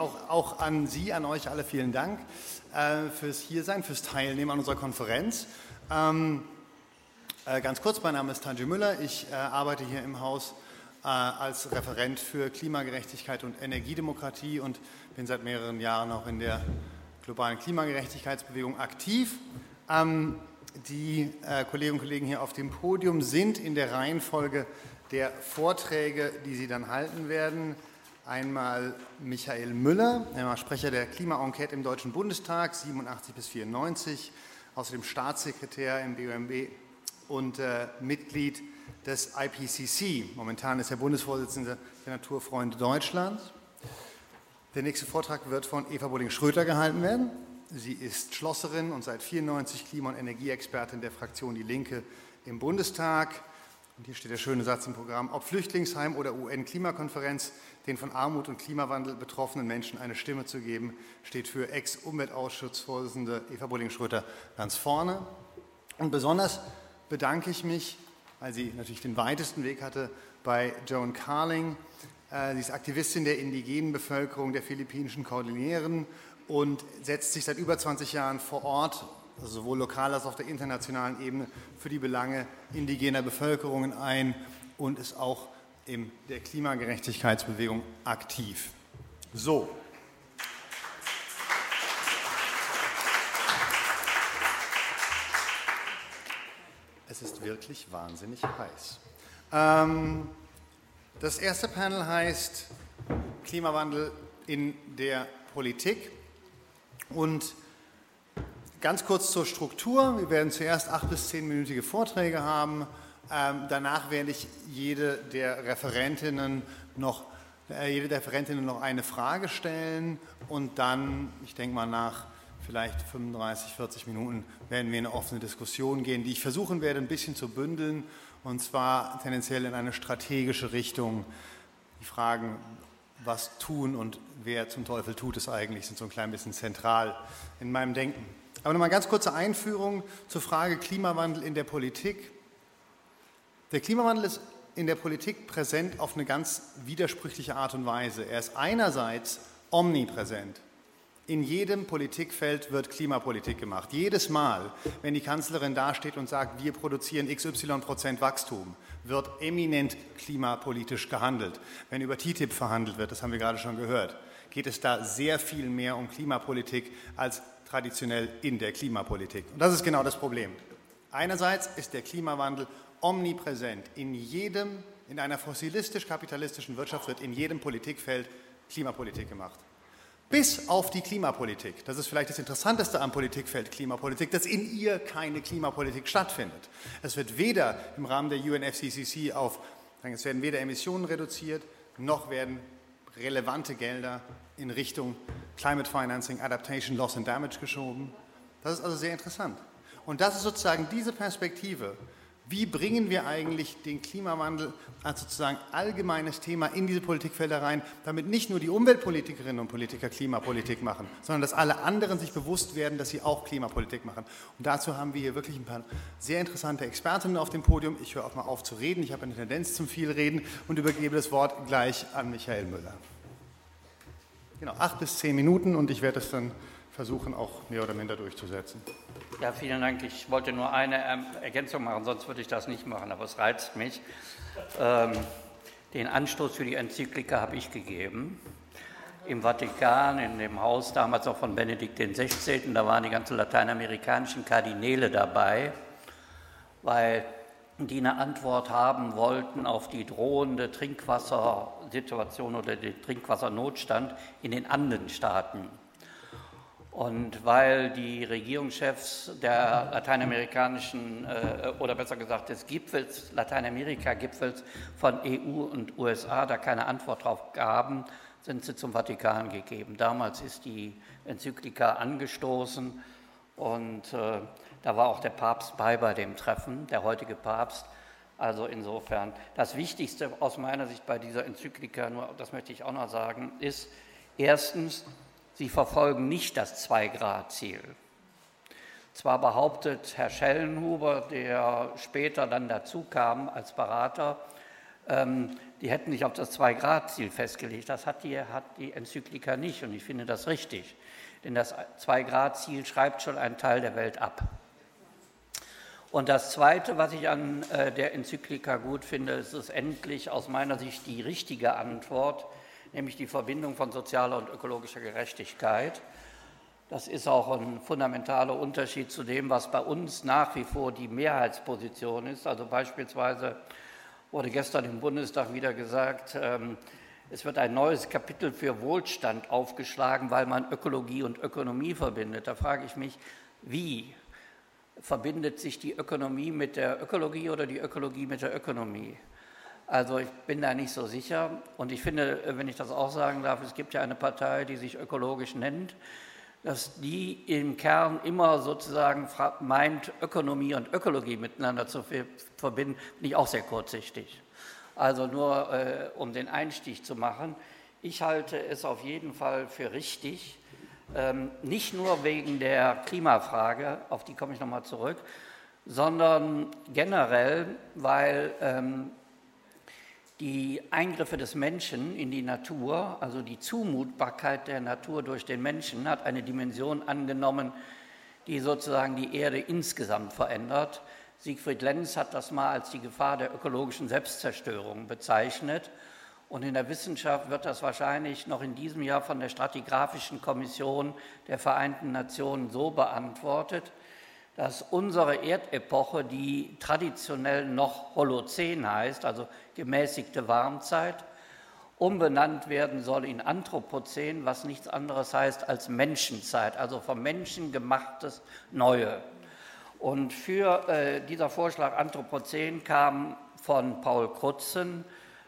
Auch an Sie, an euch alle vielen Dank fürs Hiersein, fürs Teilnehmen an unserer Konferenz. Ganz kurz, mein Name ist Tanji Müller. Ich arbeite hier im Haus als Referent für Klimagerechtigkeit und Energiedemokratie und bin seit mehreren Jahren auch in der globalen Klimagerechtigkeitsbewegung aktiv. Die Kolleginnen und Kollegen hier auf dem Podium sind in der Reihenfolge der Vorträge, die Sie dann halten werden. Einmal Michael Müller, Sprecher der Klima-Enquete im Deutschen Bundestag, 87 bis 94, außerdem Staatssekretär im BUMB und Mitglied des IPCC. Momentan ist er Bundesvorsitzender der Naturfreunde Deutschlands. Der nächste Vortrag wird von Eva Bolling-Schröter gehalten werden. Sie ist Schlosserin und seit 1994 Klima- und Energieexpertin der Fraktion Die Linke im Bundestag. Und hier steht der schöne Satz im Programm: Ob Flüchtlingsheim oder UN-Klimakonferenz, den von Armut und Klimawandel betroffenen Menschen eine Stimme zu geben, steht für Ex-Umweltausschussvorsitzende Eva Bolling-Schröter ganz vorne. Und besonders bedanke ich mich, weil sie natürlich den weitesten Weg hatte, bei Joan Carling. Sie ist Aktivistin der indigenen Bevölkerung der philippinischen Kordilleren und setzt sich seit über 20 Jahren vor Ort, also sowohl lokal als auch auf der internationalen Ebene, für die Belange indigener Bevölkerungen ein und ist auch in der Klimagerechtigkeitsbewegung aktiv. So. Es ist wirklich wahnsinnig heiß. Das erste Panel heißt Klimawandel in der Politik. Und ganz kurz zur Struktur. Wir werden zuerst 8- bis 10-minütige Vorträge haben. Danach werde ich jede der Referentinnen noch eine Frage stellen. Und dann, ich denke mal nach vielleicht 35, 40 Minuten, werden wir in eine offene Diskussion gehen, die ich versuchen werde, ein bisschen zu bündeln. Und zwar tendenziell in eine strategische Richtung. Die Fragen, was tun und wer zum Teufel tut es eigentlich, sind so ein klein bisschen zentral in meinem Denken. Aber nochmal eine ganz kurze Einführung zur Frage Klimawandel in der Politik. Der Klimawandel ist in der Politik präsent auf eine ganz widersprüchliche Art und Weise. Er ist einerseits omnipräsent. In jedem Politikfeld wird Klimapolitik gemacht. Jedes Mal, wenn die Kanzlerin dasteht und sagt, wir produzieren XY% Wachstum, wird eminent klimapolitisch gehandelt. Wenn über TTIP verhandelt wird, das haben wir gerade schon gehört, geht es da sehr viel mehr um Klimapolitik als traditionell in der Klimapolitik. Und das ist genau das Problem. Einerseits ist der Klimawandel omnipräsent. In einer fossilistisch-kapitalistischen Wirtschaft wird in jedem Politikfeld Klimapolitik gemacht. Bis auf die Klimapolitik. Das ist vielleicht das Interessanteste am Politikfeld Klimapolitik, dass in ihr keine Klimapolitik stattfindet. Es wird weder im Rahmen der UNFCCC es werden weder Emissionen reduziert, noch werden relevante Gelder in Richtung Climate Financing, Adaptation, Loss and Damage geschoben. Das ist also sehr interessant. Und das ist sozusagen diese Perspektive. Wie bringen wir eigentlich den Klimawandel als sozusagen allgemeines Thema in diese Politikfelder rein, damit nicht nur die Umweltpolitikerinnen und Politiker Klimapolitik machen, sondern dass alle anderen sich bewusst werden, dass sie auch Klimapolitik machen. Und dazu haben wir hier wirklich ein paar sehr interessante Expertinnen auf dem Podium. Ich höre auch mal auf zu reden. Ich habe eine Tendenz zum Vielreden und übergebe das Wort gleich an Michael Müller. Genau, 8 bis 10 Minuten und ich werde es dann versuchen, auch mehr oder minder durchzusetzen. Ja, vielen Dank. Ich wollte nur eine Ergänzung machen, sonst würde ich das nicht machen, aber es reizt mich. Den Anstoß für die Enzyklika habe ich gegeben. Im Vatikan, in dem Haus damals auch von Benedikt XVI., da waren die ganzen lateinamerikanischen Kardinäle dabei, weil die eine Antwort haben wollten auf die drohende Trinkwassersituation oder den Trinkwassernotstand in den Andenstaaten. Und weil die Regierungschefs der lateinamerikanischen, oder besser gesagt des Gipfels, Lateinamerika-Gipfels von EU und USA da keine Antwort drauf gaben, sind sie zum Vatikan gegeben. Damals ist die Enzyklika angestoßen und da war auch der Papst bei dem Treffen, der heutige Papst. Also insofern, das Wichtigste aus meiner Sicht bei dieser Enzyklika, nur das möchte ich auch noch sagen, ist erstens, sie verfolgen nicht das 2-Grad-Ziel. Zwar behauptet Herr Schellenhuber, der später dann dazu kam als Berater, die hätten sich auf das 2-Grad-Ziel festgelegt. Das hat die Enzyklika nicht und ich finde das richtig. Denn das 2-Grad-Ziel schreibt schon einen Teil der Welt ab. Und das Zweite, was ich an der Enzyklika gut finde, ist es endlich aus meiner Sicht die richtige Antwort, nämlich die Verbindung von sozialer und ökologischer Gerechtigkeit. Das ist auch ein fundamentaler Unterschied zu dem, was bei uns nach wie vor die Mehrheitsposition ist. Also beispielsweise wurde gestern im Bundestag wieder gesagt, es wird ein neues Kapitel für Wohlstand aufgeschlagen, weil man Ökologie und Ökonomie verbindet. Da frage ich mich, wie verbindet sich die Ökonomie mit der Ökologie oder die Ökologie mit der Ökonomie? Also ich bin da nicht so sicher und ich finde, wenn ich das auch sagen darf, es gibt ja eine Partei, die sich ökologisch nennt, dass die im Kern immer sozusagen meint, Ökonomie und Ökologie miteinander zu verbinden, bin ich auch sehr kurzsichtig. Also nur um den Einstieg zu machen, ich halte es auf jeden Fall für richtig, nicht nur wegen der Klimafrage, auf die komme ich nochmal zurück, sondern generell, weil die Eingriffe des Menschen in die Natur, also die Zumutbarkeit der Natur durch den Menschen, hat eine Dimension angenommen, die sozusagen die Erde insgesamt verändert. Siegfried Lenz hat das mal als die Gefahr der ökologischen Selbstzerstörung bezeichnet. Und in der Wissenschaft wird das wahrscheinlich noch in diesem Jahr von der Stratigraphischen Kommission der Vereinten Nationen so beantwortet, dass unsere Erdepoche, die traditionell noch Holozän heißt, also gemäßigte Warmzeit, umbenannt werden soll in Anthropozän, was nichts anderes heißt als Menschenzeit, also vom Menschen gemachtes Neue. Und für dieser Vorschlag Anthropozän kam von Paul Crutzen,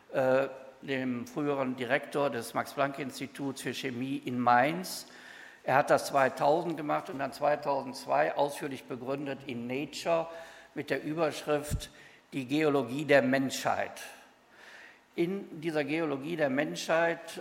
dem früheren Direktor des Max-Planck-Instituts für Chemie in Mainz. Er hat das 2000 gemacht und dann 2002 ausführlich begründet in Nature mit der Überschrift Die Geologie der Menschheit. In dieser Geologie der Menschheit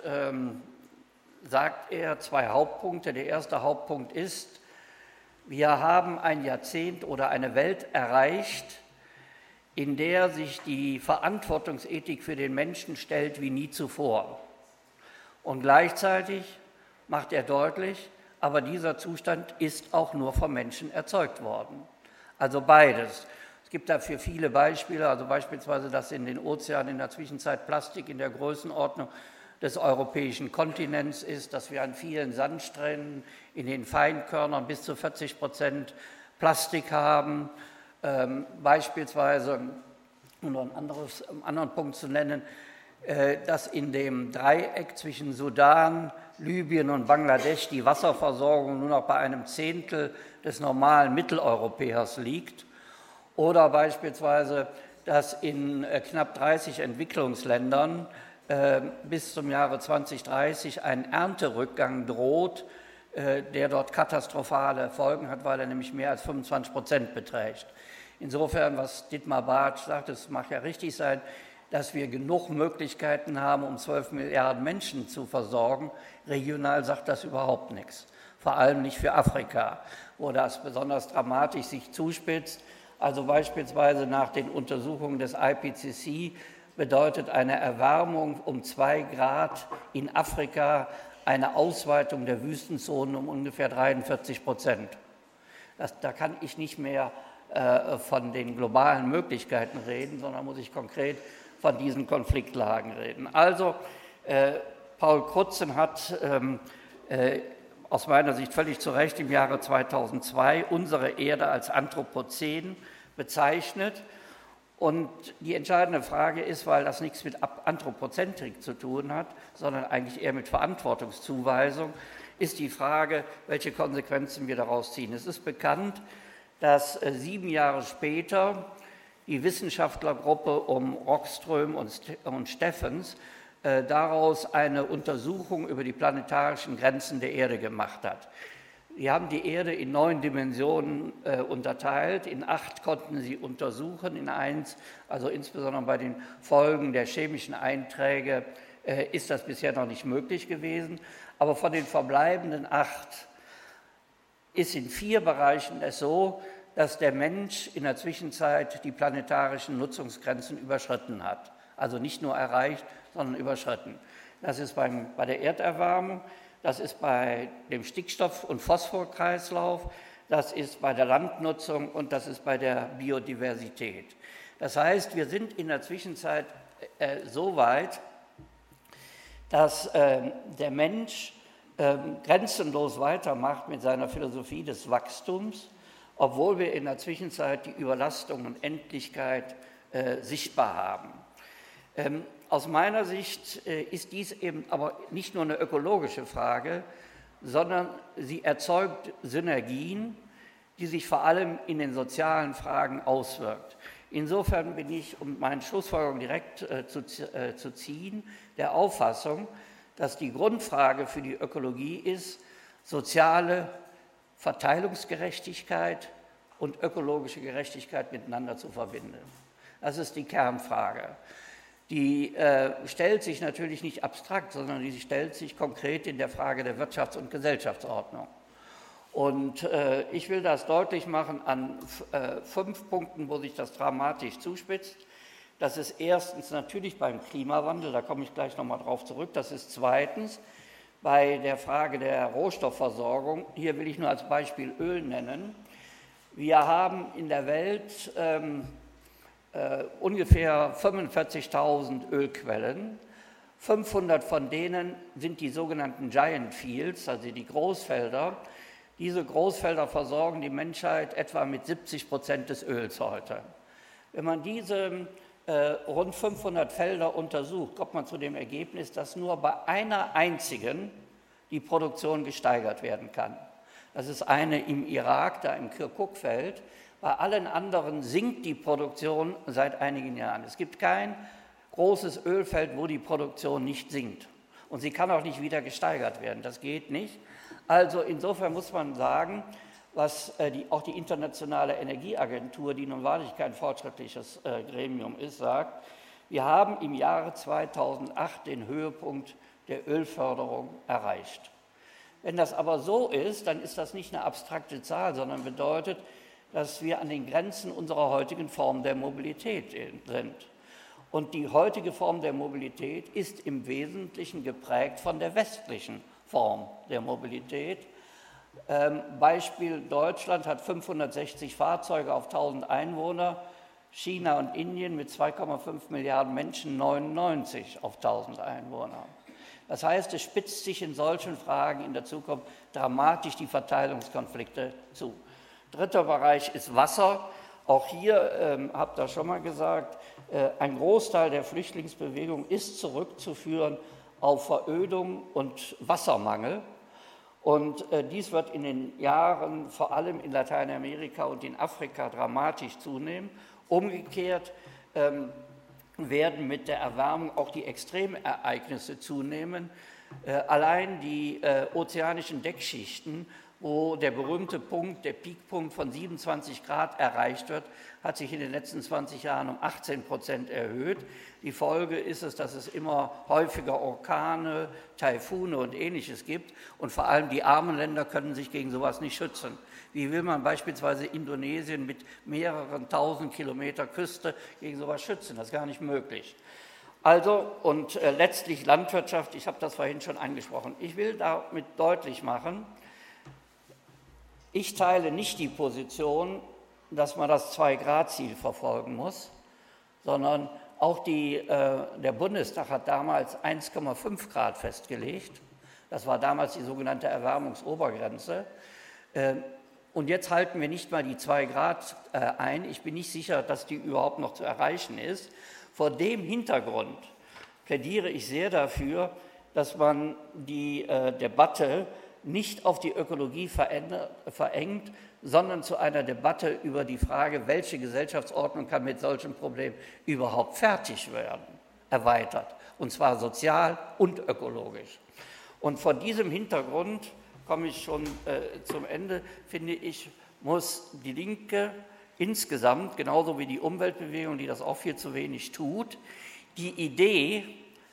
sagt er 2 Hauptpunkte. Der erste Hauptpunkt ist, wir haben ein Jahrzehnt oder eine Welt erreicht, in der sich die Verantwortungsethik für den Menschen stellt wie nie zuvor. Und gleichzeitig macht er deutlich, aber dieser Zustand ist auch nur vom Menschen erzeugt worden. Also beides. Es gibt dafür viele Beispiele, also beispielsweise, dass in den Ozeanen in der Zwischenzeit Plastik in der Größenordnung des europäischen Kontinents ist, dass wir an vielen Sandstränden in den Feinkörnern bis zu 40% Plastik haben. Beispielsweise, um noch einen anderen Punkt zu nennen, dass in dem Dreieck zwischen Sudan, Libyen und Bangladesch die Wasserversorgung nur noch bei einem Zehntel des normalen Mitteleuropäers liegt. Oder beispielsweise, dass in knapp 30 Entwicklungsländern bis zum Jahre 2030 ein Ernterückgang droht, der dort katastrophale Folgen hat, weil er nämlich mehr als 25% beträgt. Insofern, was Dietmar Bartsch sagt, es mag ja richtig sein, dass wir genug Möglichkeiten haben, um 12 Milliarden Menschen zu versorgen. Regional sagt das überhaupt nichts, vor allem nicht für Afrika, wo das besonders dramatisch sich zuspitzt. Also beispielsweise nach den Untersuchungen des IPCC bedeutet eine Erwärmung um 2 Grad in Afrika eine Ausweitung der Wüstenzonen um ungefähr 43%. Da kann ich nicht mehr von den globalen Möglichkeiten reden, sondern muss ich konkret von diesen Konfliktlagen reden. Also Paul Crutzen hat aus meiner Sicht völlig zu Recht im Jahre 2002 unsere Erde als Anthropozän bezeichnet. Und die entscheidende Frage ist, weil das nichts mit Anthropozentrik zu tun hat, sondern eigentlich eher mit Verantwortungszuweisung, ist die Frage, welche Konsequenzen wir daraus ziehen. Es ist bekannt, dass 7 Jahre später die Wissenschaftlergruppe um Rockström und Steffens daraus eine Untersuchung über die planetarischen Grenzen der Erde gemacht hat. Sie haben die Erde in 9 Dimensionen unterteilt, in 8 konnten sie untersuchen, in 1, also insbesondere bei den Folgen der chemischen Einträge, ist das bisher noch nicht möglich gewesen. Aber von den verbleibenden 8 ist in 4 Bereichen es so, dass der Mensch in der Zwischenzeit die planetarischen Nutzungsgrenzen überschritten hat. Also nicht nur erreicht, sondern überschritten. Das ist bei der Erderwärmung, das ist bei dem Stickstoff- und Phosphorkreislauf, das ist bei der Landnutzung und das ist bei der Biodiversität. Das heißt, wir sind in der Zwischenzeit so weit, dass der Mensch grenzenlos weitermacht mit seiner Philosophie des Wachstums, obwohl wir in der Zwischenzeit die Überlastung und Endlichkeit sichtbar haben. Aus meiner Sicht ist dies eben aber nicht nur eine ökologische Frage, sondern sie erzeugt Synergien, die sich vor allem in den sozialen Fragen auswirkt. Insofern bin ich, um meine Schlussfolgerung direkt zu ziehen, der Auffassung, dass die Grundfrage für die Ökologie ist, soziale Verteilungsgerechtigkeit und ökologische Gerechtigkeit miteinander zu verbinden. Das ist die Kernfrage. Die stellt sich natürlich nicht abstrakt, sondern die stellt sich konkret in der Frage der Wirtschafts- und Gesellschaftsordnung. Und ich will das deutlich machen an 5 Punkten, wo sich das dramatisch zuspitzt. Das ist erstens natürlich beim Klimawandel, da komme ich gleich nochmal drauf zurück. Das ist zweitens bei der Frage der Rohstoffversorgung. Hier will ich nur als Beispiel Öl nennen. Wir haben in der Welt ungefähr 45.000 Ölquellen. 500 von denen sind die sogenannten Giant Fields, also die Großfelder. Diese Großfelder versorgen die Menschheit etwa mit 70% des Öls heute. Wenn man diese rund 500 Felder untersucht, kommt man zu dem Ergebnis, dass nur bei einer einzigen die Produktion gesteigert werden kann. Das ist eine im Irak, da im Kirkuk-Feld. Bei allen anderen sinkt die Produktion seit einigen Jahren. Es gibt kein großes Ölfeld, wo die Produktion nicht sinkt. Und sie kann auch nicht wieder gesteigert werden. Das geht nicht. Also insofern muss man sagen, was auch die Internationale Energieagentur, die nun wahrlich kein fortschrittliches Gremium ist, sagt, wir haben im Jahre 2008 den Höhepunkt der Ölförderung erreicht. Wenn das aber so ist, dann ist das nicht eine abstrakte Zahl, sondern bedeutet, dass wir an den Grenzen unserer heutigen Form der Mobilität sind. Und die heutige Form der Mobilität ist im Wesentlichen geprägt von der westlichen Form der Mobilität. Beispiel Deutschland hat 560 Fahrzeuge auf 1000 Einwohner, China und Indien mit 2,5 Milliarden Menschen 99 auf 1000 Einwohner. Das heißt, es spitzt sich in solchen Fragen in der Zukunft dramatisch die Verteilungskonflikte zu. Dritter Bereich ist Wasser. Auch hier, habt ihr schon mal gesagt, ein Großteil der Flüchtlingsbewegung ist zurückzuführen auf Verödung und Wassermangel. Und dies wird in den Jahren vor allem in Lateinamerika und in Afrika dramatisch zunehmen. Umgekehrt werden mit der Erwärmung auch die Extremereignisse zunehmen. Allein die ozeanischen Deckschichten, wo der berühmte Punkt, der Peakpunkt von 27 Grad erreicht wird, hat sich in den letzten 20 Jahren um 18% erhöht. Die Folge ist es, dass es immer häufiger Orkane, Taifune und Ähnliches gibt. Und vor allem die armen Länder können sich gegen sowas nicht schützen. Wie will man beispielsweise Indonesien mit mehreren tausend Kilometer Küste gegen sowas schützen? Das ist gar nicht möglich. Also, und letztlich Landwirtschaft, ich habe das vorhin schon angesprochen. Ich will damit deutlich machen, ich teile nicht die Position, dass man das 2-Grad-Ziel verfolgen muss, sondern auch der Bundestag hat damals 1,5 Grad festgelegt. Das war damals die sogenannte Erwärmungsobergrenze. Und jetzt halten wir nicht mal die 2 Grad ein. Ich bin nicht sicher, dass die überhaupt noch zu erreichen ist. Vor dem Hintergrund plädiere ich sehr dafür, dass man die Debatte nicht auf die Ökologie verengt, sondern zu einer Debatte über die Frage, welche Gesellschaftsordnung kann mit solchen Problemen überhaupt fertig werden, erweitert, und zwar sozial und ökologisch. Und vor diesem Hintergrund komme ich schon zum Ende, finde ich, muss die Linke insgesamt, genauso wie die Umweltbewegung, die das auch viel zu wenig tut, die Idee,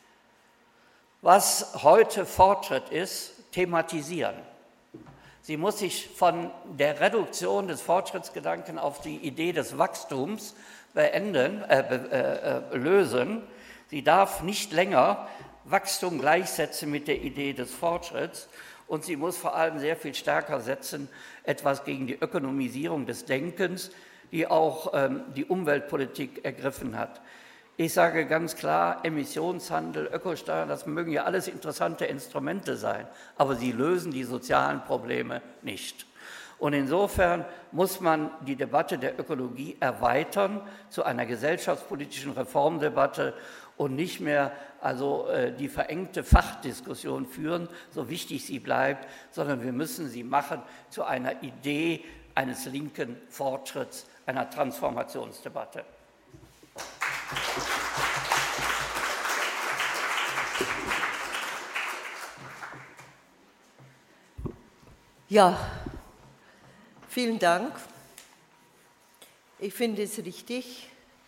was heute Fortschritt ist, thematisieren. Sie muss sich von der Reduktion des Fortschrittsgedanken auf die Idee des Wachstums lösen. Sie darf nicht länger Wachstum gleichsetzen mit der Idee des Fortschritts und sie muss vor allem sehr viel stärker setzen, etwas gegen die Ökonomisierung des Denkens, die auch die Umweltpolitik ergriffen hat. Ich sage ganz klar, Emissionshandel, Ökosteuern, das mögen ja alles interessante Instrumente sein, aber sie lösen die sozialen Probleme nicht. Und insofern muss man die Debatte der Ökologie erweitern zu einer gesellschaftspolitischen Reformdebatte und nicht mehr die verengte Fachdiskussion führen, so wichtig sie bleibt, sondern wir müssen sie machen zu einer Idee eines linken Fortschritts, einer Transformationsdebatte. Ja, vielen Dank. Ich finde es richtig,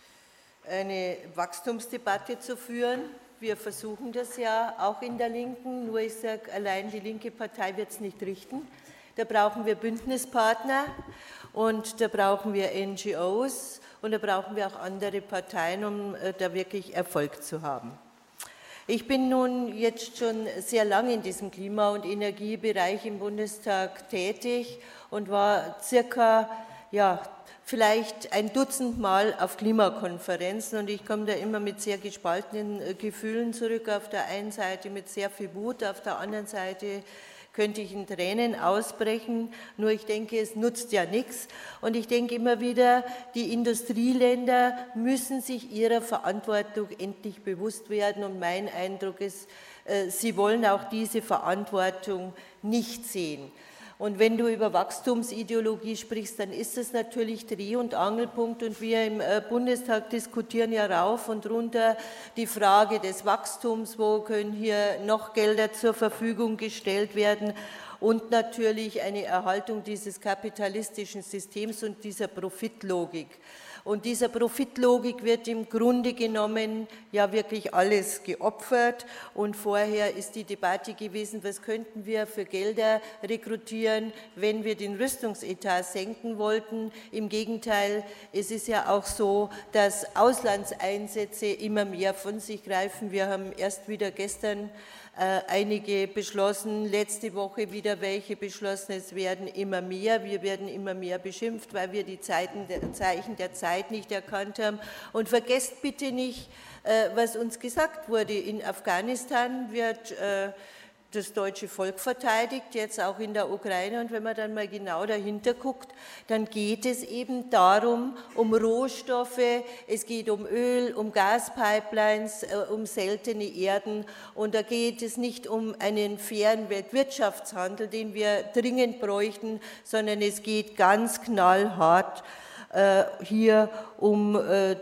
eine Wachstumsdebatte zu führen. Wir versuchen das ja auch in der Linken, nur ich sage, allein die linke Partei wird es nicht richten. Da brauchen wir Bündnispartner und da brauchen wir NGOs und da brauchen wir auch andere Parteien, um da wirklich Erfolg zu haben. Ich bin nun jetzt schon sehr lange in diesem Klima- und Energiebereich im Bundestag tätig und war circa, vielleicht ein Dutzend Mal auf Klimakonferenzen und ich komme da immer mit sehr gespaltenen Gefühlen zurück. Auf der einen Seite mit sehr viel Wut, auf der anderen Seite könnte ich in Tränen ausbrechen, nur ich denke, es nutzt ja nichts. Und ich denke immer wieder, die Industrieländer müssen sich ihrer Verantwortung endlich bewusst werden. Und mein Eindruck ist, sie wollen auch diese Verantwortung nicht sehen. Und wenn du über Wachstumsideologie sprichst, dann ist das natürlich Dreh- und Angelpunkt und wir im Bundestag diskutieren ja rauf und runter die Frage des Wachstums, wo können hier noch Gelder zur Verfügung gestellt werden und natürlich eine Erhaltung dieses kapitalistischen Systems und dieser Profitlogik. Und dieser Profitlogik wird im Grunde genommen ja wirklich alles geopfert. Und vorher ist die Debatte gewesen, was könnten wir für Gelder rekrutieren, wenn wir den Rüstungsetat senken wollten. Im Gegenteil, es ist ja auch so, dass Auslandseinsätze immer mehr von sich greifen. Wir haben erst wieder gestern einige beschlossen, letzte Woche wieder welche beschlossen, es werden immer mehr, wir werden immer mehr beschimpft, weil wir die Zeichen der Zeit nicht erkannt haben. Und vergesst bitte nicht, was uns gesagt wurde, in Afghanistan wird das deutsche Volk verteidigt, jetzt auch in der Ukraine. Und wenn man dann mal genau dahinter guckt, dann geht es eben darum, um Rohstoffe, es geht um Öl, um Gaspipelines, um seltene Erden. Und da geht es nicht um einen fairen Weltwirtschaftshandel, den wir dringend bräuchten, sondern es geht ganz knallhart hier um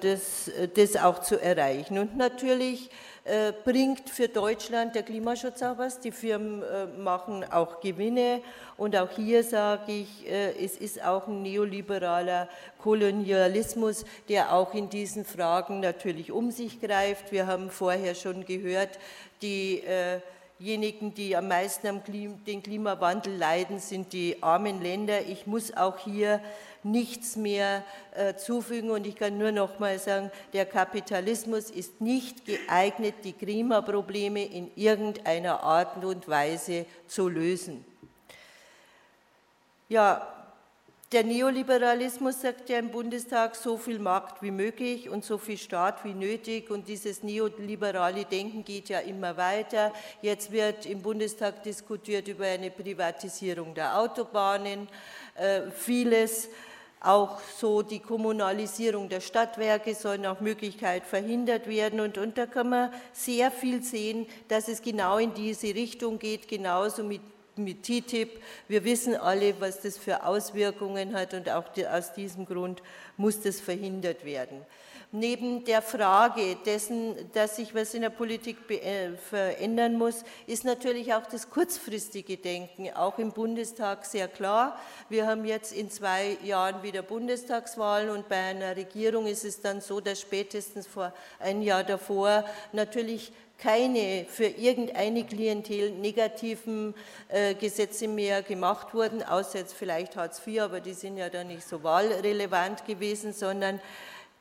das auch zu erreichen. Und natürlich bringt für Deutschland der Klimaschutz auch was. Die Firmen machen auch Gewinne und auch hier sage ich, es ist auch ein neoliberaler Kolonialismus, der auch in diesen Fragen natürlich um sich greift. Wir haben vorher schon gehört, diejenigen, die am meisten den Klimawandel leiden, sind die armen Länder. Ich muss auch hier nichts mehr zufügen und ich kann nur noch mal sagen, der Kapitalismus ist nicht geeignet, die Klimaprobleme in irgendeiner Art und Weise zu lösen. Ja, der Neoliberalismus sagt ja im Bundestag, so viel Markt wie möglich und so viel Staat wie nötig und dieses neoliberale Denken geht ja immer weiter. Jetzt wird im Bundestag diskutiert über eine Privatisierung der Autobahnen, vieles. Auch so die Kommunalisierung der Stadtwerke soll nach Möglichkeit verhindert werden und da kann man sehr viel sehen, dass es genau in diese Richtung geht, genauso mit TTIP. Wir wissen alle, was das für Auswirkungen hat und auch aus diesem Grund muss das verhindert werden. Neben der Frage dessen, dass sich was in der Politik verändern muss, ist natürlich auch das kurzfristige Denken, auch im Bundestag sehr klar. Wir haben jetzt in 2 Jahren wieder Bundestagswahlen und bei einer Regierung ist es dann so, dass spätestens vor ein Jahr davor natürlich keine für irgendeine Klientel negativen Gesetze mehr gemacht wurden, außer jetzt vielleicht Hartz IV, aber die sind ja dann nicht so wahlrelevant gewesen, sondern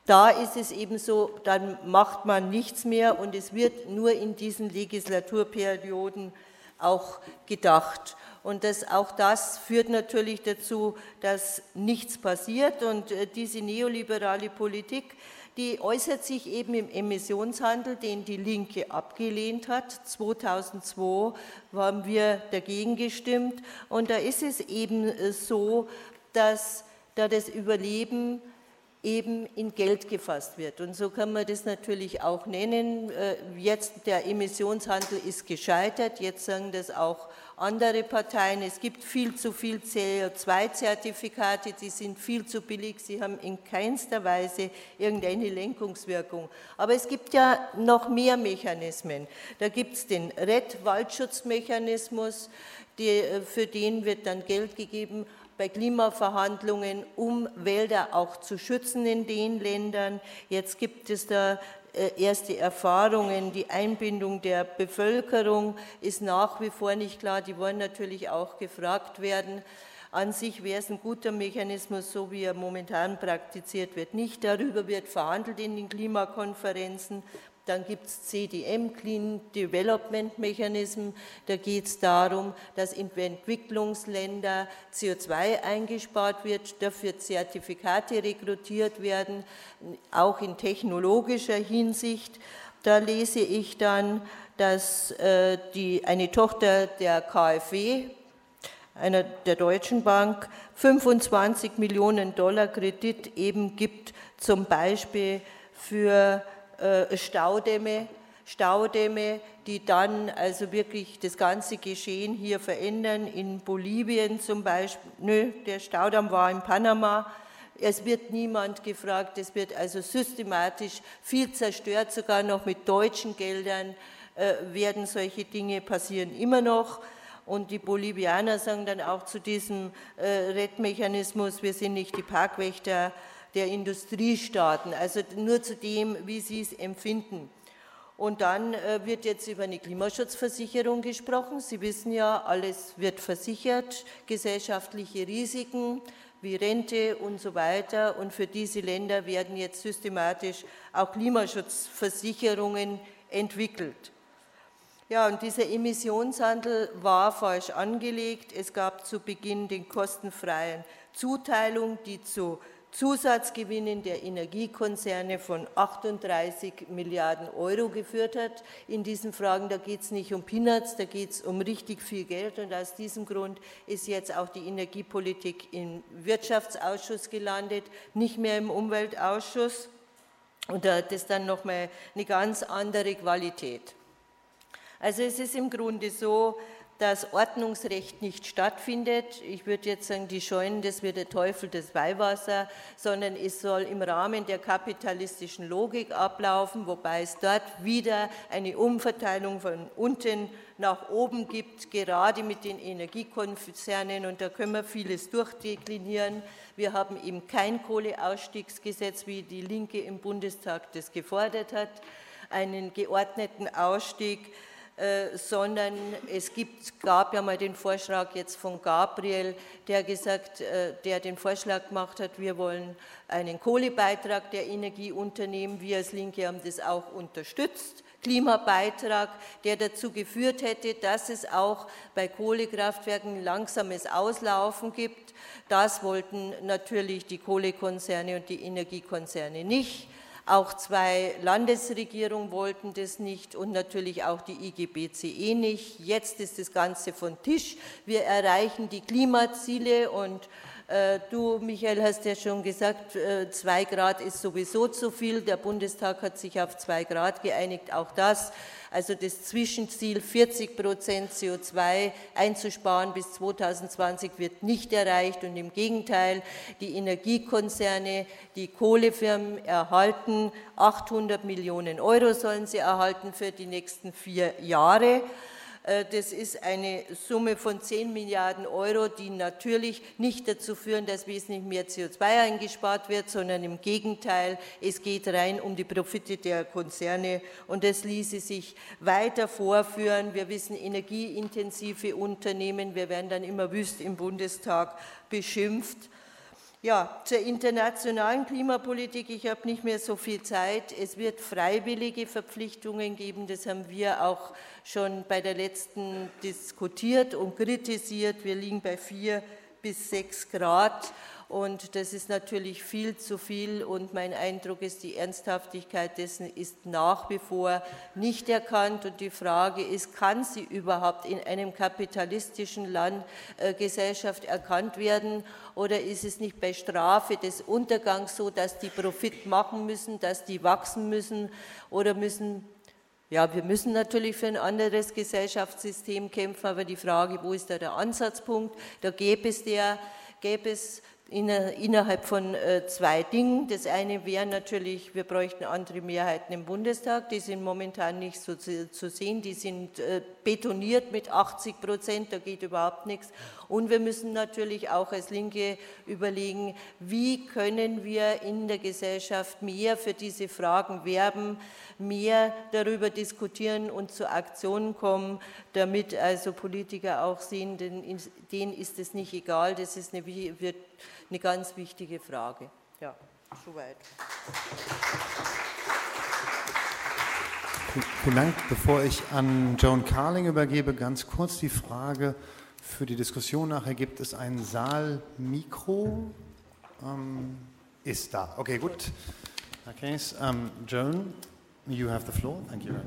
da ist es eben so, dann macht man nichts mehr und es wird nur in diesen Legislaturperioden auch gedacht. Und auch das führt natürlich dazu, dass nichts passiert. Und diese neoliberale Politik, die äußert sich eben im Emissionshandel, den die Linke abgelehnt hat. 2002 haben wir dagegen gestimmt. Und da ist es eben so, dass da das Überleben eben in Geld gefasst wird. Und so kann man das natürlich auch nennen. Jetzt der Emissionshandel ist gescheitert, jetzt sagen das auch andere Parteien. Es gibt viel zu viel CO2-Zertifikate, die sind viel zu billig, sie haben in keinster Weise irgendeine Lenkungswirkung. Aber es gibt ja noch mehr Mechanismen. Da gibt es den RED-Waldschutzmechanismus, für den wird dann Geld gegeben, bei Klimaverhandlungen, um Wälder auch zu schützen in den Ländern. Jetzt gibt es da erste Erfahrungen. Die Einbindung der Bevölkerung ist nach wie vor nicht klar. Die wollen natürlich auch gefragt werden. An sich wäre es ein guter Mechanismus, so wie er momentan praktiziert wird. Nicht darüber wird verhandelt in den Klimakonferenzen. Dann gibt es CDM, Clean Development Mechanism. Da geht es darum, dass in Entwicklungsländern CO2 eingespart wird, dafür Zertifikate rekrutiert werden, auch in technologischer Hinsicht. Da lese ich dann, dass eine Tochter der KfW, einer der Deutschen Bank, 25 Millionen $ Kredit eben gibt, zum Beispiel für Staudämme, die dann also wirklich das ganze Geschehen hier verändern. In Bolivien zum Beispiel, der Staudamm war in Panama. Es wird niemand gefragt, es wird also systematisch viel zerstört, sogar noch mit deutschen Geldern werden solche Dinge passieren immer noch. Und die Bolivianer sagen dann auch zu diesem RED-Mechanismus, wir sind nicht die Parkwächter der Industriestaaten, also nur zu dem, wie sie es empfinden. Und dann wird jetzt über eine Klimaschutzversicherung gesprochen. Sie wissen ja, alles wird versichert, gesellschaftliche Risiken wie Rente und so weiter. Und für diese Länder werden jetzt systematisch auch Klimaschutzversicherungen entwickelt. Ja, und dieser Emissionshandel war falsch angelegt. Es gab zu Beginn den kostenfreien Zuteilung, die zu Zusatzgewinnen der Energiekonzerne von 38 Milliarden € geführt hat. In diesen Fragen, da geht es nicht um Peanuts, da geht es um richtig viel Geld. Und aus diesem Grund ist jetzt auch die Energiepolitik im Wirtschaftsausschuss gelandet, nicht mehr im Umweltausschuss. Und da hat es dann nochmal eine ganz andere Qualität. Also es ist im Grunde so, dass Ordnungsrecht nicht stattfindet. Ich würde jetzt sagen, die Scheunen, das wird der Teufel das Weihwasser, sondern es soll im Rahmen der kapitalistischen Logik ablaufen, wobei es dort wieder eine Umverteilung von unten nach oben gibt, gerade mit den Energiekonzernen, und da können wir vieles durchdeklinieren. Wir haben eben kein Kohleausstiegsgesetz, wie die Linke im Bundestag das gefordert hat, einen geordneten Ausstieg, sondern es gab ja mal den Vorschlag jetzt von Gabriel, der den Vorschlag gemacht hat, wir wollen einen Kohlebeitrag der Energieunternehmen, wir als Linke haben das auch unterstützt, Klimabeitrag, der dazu geführt hätte, dass es auch bei Kohlekraftwerken ein langsames Auslaufen gibt. Das wollten natürlich die Kohlekonzerne und die Energiekonzerne nicht. Auch 2 Landesregierungen wollten das nicht und natürlich auch die IGBCE nicht. Jetzt ist das Ganze vom Tisch. Wir erreichen die Klimaziele und du, Michael, hast ja schon gesagt, 2 Grad ist sowieso zu viel. Der Bundestag hat sich auf 2 Grad geeinigt, auch das. Also das Zwischenziel, 40% CO2 einzusparen bis 2020, wird nicht erreicht. Und im Gegenteil, die Energiekonzerne, die Kohlefirmen erhalten 800 Millionen € sollen sie erhalten für die nächsten 4 Jahre. Das ist eine Summe von 10 Milliarden €, die natürlich nicht dazu führen, dass wesentlich mehr CO2 eingespart wird, sondern im Gegenteil, es geht rein um die Profite der Konzerne und das ließe sich weiter vorführen. Wir wissen, energieintensive Unternehmen, wir werden dann immer wüst im Bundestag beschimpft. Ja, zur internationalen Klimapolitik, ich habe nicht mehr so viel Zeit. Es wird freiwillige Verpflichtungen geben, das haben wir auch schon bei der letzten diskutiert und kritisiert. Wir liegen bei 4 bis 6 Grad und das ist natürlich viel zu viel und mein Eindruck ist, die Ernsthaftigkeit dessen ist nach wie vor nicht erkannt und die Frage ist, kann sie überhaupt in einem kapitalistischen Land Gesellschaft erkannt werden oder ist es nicht bei Strafe des Untergangs so, dass die Profit machen müssen, dass die wachsen müssen oder müssen. Ja, wir müssen natürlich für ein anderes Gesellschaftssystem kämpfen, aber die Frage, wo ist da der Ansatzpunkt? Da gäbe es innerhalb von 2 Dingen. Das eine wäre natürlich, wir bräuchten andere Mehrheiten im Bundestag, die sind momentan nicht so zu sehen, die sind betoniert mit 80%, da geht überhaupt nichts. Und wir müssen natürlich auch als Linke überlegen, wie können wir in der Gesellschaft mehr für diese Fragen werben, mehr darüber diskutieren und zu Aktionen kommen, damit also Politiker auch sehen, denen ist es nicht egal, das ist wird eine ganz wichtige Frage. Ja, soweit. Vielen Dank. Bevor ich an Joan Carling übergebe, ganz kurz die Frage für die Diskussion nachher. Gibt es ein Saalmikro? Ist da. Okay, gut. Okay, Joan, you have the floor. Thank you very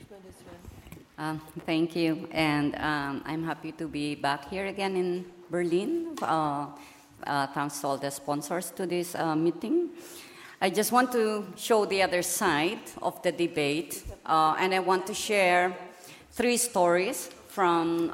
much. Thank you, and I'm happy to be back here again in Berlin. Thanks to all the sponsors to this meeting. I just want to show the other side of the debate, and I want to share 3 stories from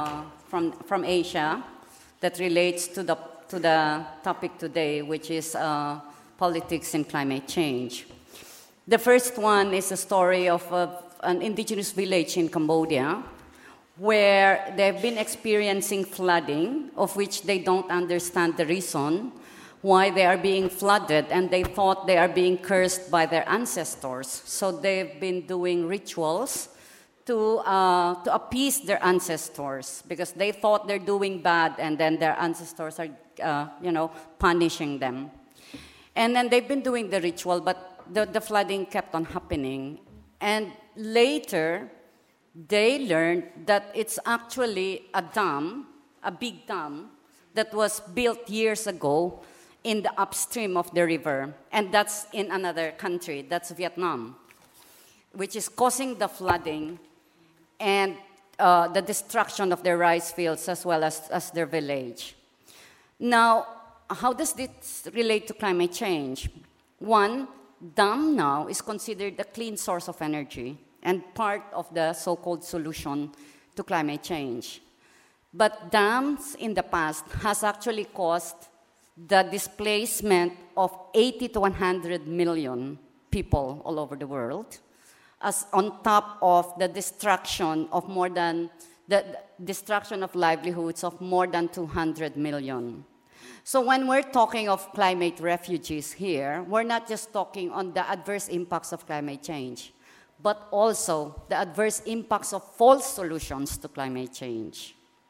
Asia that relates to the topic today, which is politics and climate change. The first one is a story of an indigenous village in Cambodia where they've been experiencing flooding, of which they don't understand the reason why they are being flooded, and they thought they are being cursed by their ancestors. So they've been doing rituals to appease their ancestors because they thought they're doing bad, and then their ancestors are, punishing them. And then they've been doing the ritual, but the flooding kept on happening. And later, they learned that it's actually a dam, a big dam, that was built years ago in the upstream of the river. And that's in another country, that's Vietnam, which is causing the flooding and the destruction of their rice fields as well as their village. Now, how does this relate to climate change? One, dam now is considered a clean source of energy and part of the so-called solution to climate change. But dams in the past has actually caused the displacement of 80 to 100 million people all over the world, as on top of the destruction of the destruction of livelihoods of more than 200 million. So when we're talking of climate refugees here, we're not just talking on the adverse impacts of climate change, but also the adverse impacts of false solutions to climate change.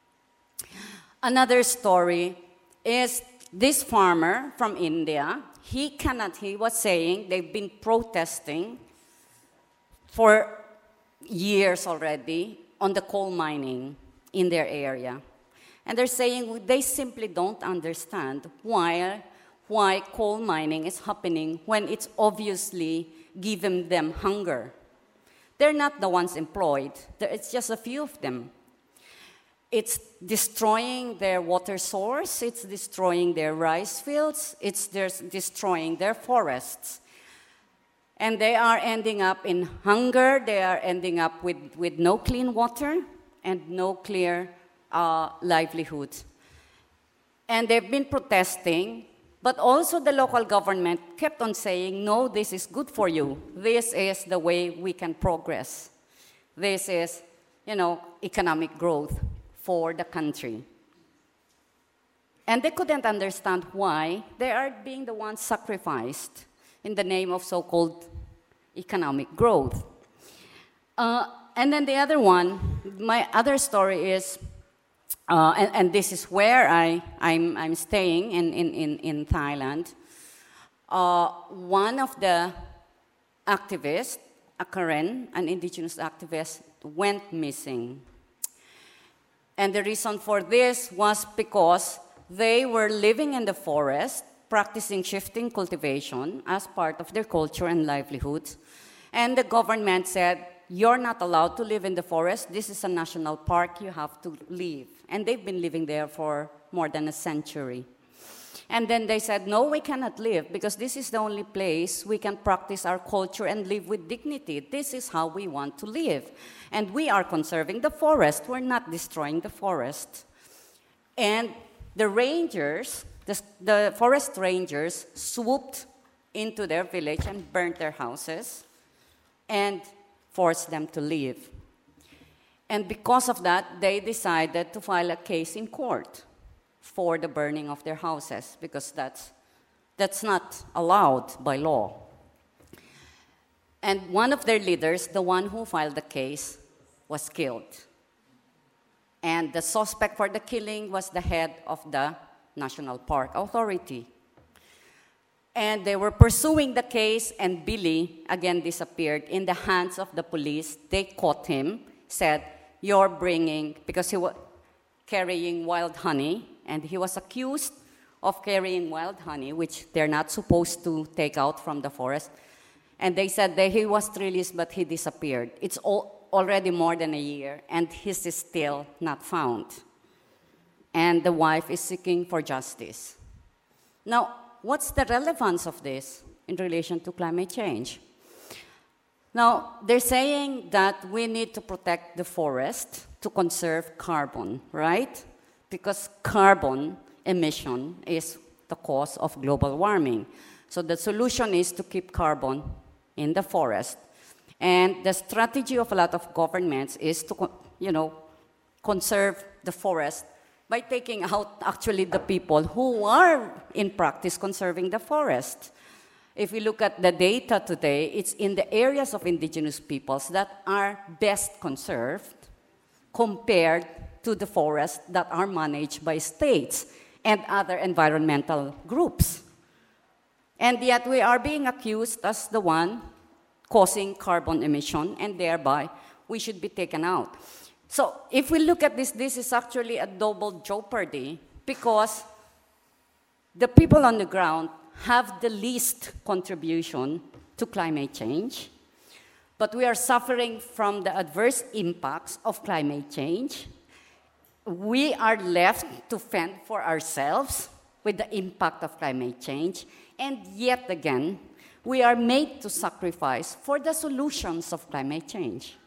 Another story is this farmer from India. He was saying they've been protesting for years already on the coal mining in their area. And they're saying they simply don't understand why coal mining is happening when it's obviously giving them hunger. They're not the ones employed. It's just a few of them. It's destroying their water source. It's destroying their rice fields. It's destroying their forests. And they are ending up in hunger. They are ending up with no clean water and no clear livelihood. And they've been protesting, but also the local government kept on saying, no, this is good for you. This is the way we can progress. This is, economic growth for the country. And they couldn't understand why they are being the ones sacrificed in the name of so-called economic growth. And then the other one, my other story is and this is where I'm staying in Thailand. One of the activists, a Karen, an indigenous activist, went missing. And the reason for this was because they were living in the forest, practicing shifting cultivation as part of their culture and livelihoods. And the government said, you're not allowed to live in the forest. This is a national park. You have to leave. And they've been living there for more than a century. And then they said, no, we cannot live because this is the only place we can practice our culture and live with dignity. This is how we want to live. And we are conserving the forest. We're not destroying the forest. And the rangers, the forest rangers, swooped into their village and burnt their houses and forced them to leave. And because of that, they decided to file a case in court for the burning of their houses, because that's not allowed by law. And one of their leaders, the one who filed the case, was killed. And the suspect for the killing was the head of the National Park Authority. And they were pursuing the case, and Billy again disappeared in the hands of the police. They caught him, said, you're bringing, because he was carrying wild honey, and he was accused of carrying wild honey, which they're not supposed to take out from the forest. And they said that he was released, but he disappeared. It's already more than a year, and he's still not found. And the wife is seeking for justice. Now, what's the relevance of this in relation to climate change? Now, they're saying that we need to protect the forest to conserve carbon, right? Because carbon emission is the cause of global warming. So the solution is to keep carbon in the forest. And the strategy of a lot of governments is to, conserve the forest by taking out actually the people who are in practice conserving the forest. If we look at the data today, it's in the areas of indigenous peoples that are best conserved compared to the forests that are managed by states and other environmental groups. And yet we are being accused as the one causing carbon emission, and thereby we should be taken out. So if we look at this, this is actually a double jeopardy, because the people on the ground have the least contribution to climate change, but we are suffering from the adverse impacts of climate change. We are left to fend for ourselves with the impact of climate change, and yet again, we are made to sacrifice for the solutions of climate change.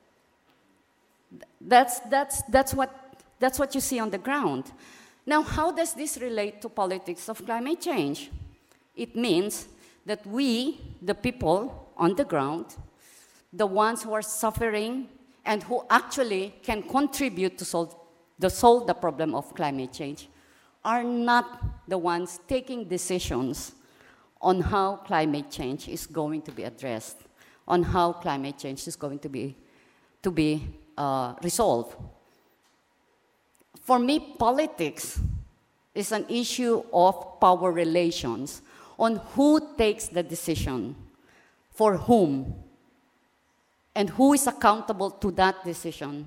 That's what you see on the ground. Now, how does this relate to politics of climate change? It means that we, the people on the ground, the ones who are suffering and who actually can contribute to solve the problem of climate change, are not the ones taking decisions on how climate change is going to be addressed, on how climate change is going to be resolved. For me, politics is an issue of power relations, on who takes the decision, for whom, and who is accountable to that decision.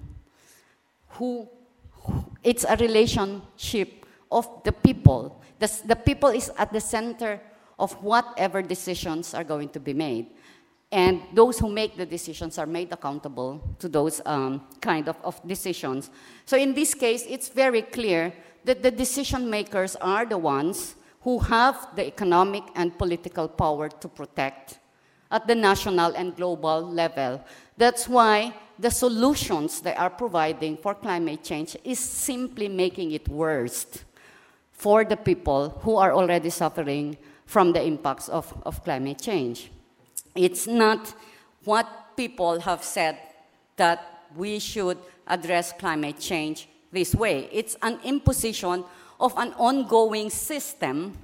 It's a relationship of the people. The people is at the center of whatever decisions are going to be made. And those who make the decisions are made accountable to those kind of decisions. So in this case, it's very clear that the decision makers are the ones who have the economic and political power to protect at the national and global level. That's why the solutions they are providing for climate change is simply making it worse for the people who are already suffering from the impacts of climate change. It's not what people have said that we should address climate change this way. It's an imposition of an ongoing system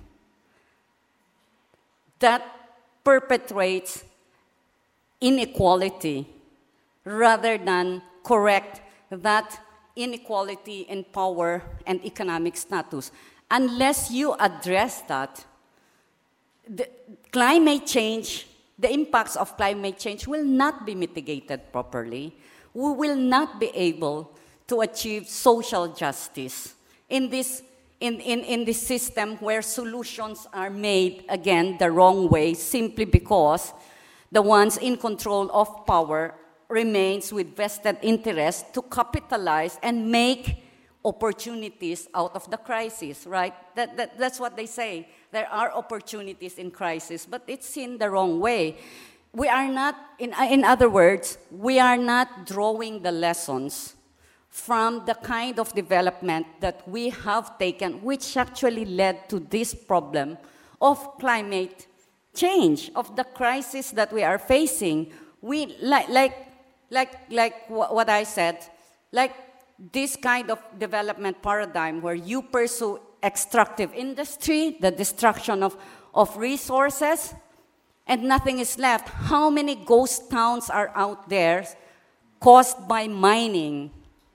that perpetuates inequality rather than correct that inequality in power and economic status. Unless you address that, the climate change, the impacts of climate change will not be mitigated properly. We will not be able to achieve social justice in this system where solutions are made, again, the wrong way, simply because the ones in control of power remains with vested interest to capitalize and make opportunities out of the crisis, right? That's what they say. There are opportunities in crisis, but it's seen the wrong way. We are not, in other words, we are not drawing the lessons from the kind of development that we have taken, which actually led to this problem of climate change, of the crisis that we are facing. We, like what I said, like this kind of development paradigm where you pursue extractive industry, the destruction of resources, and nothing is left. How many ghost towns are out there caused by mining?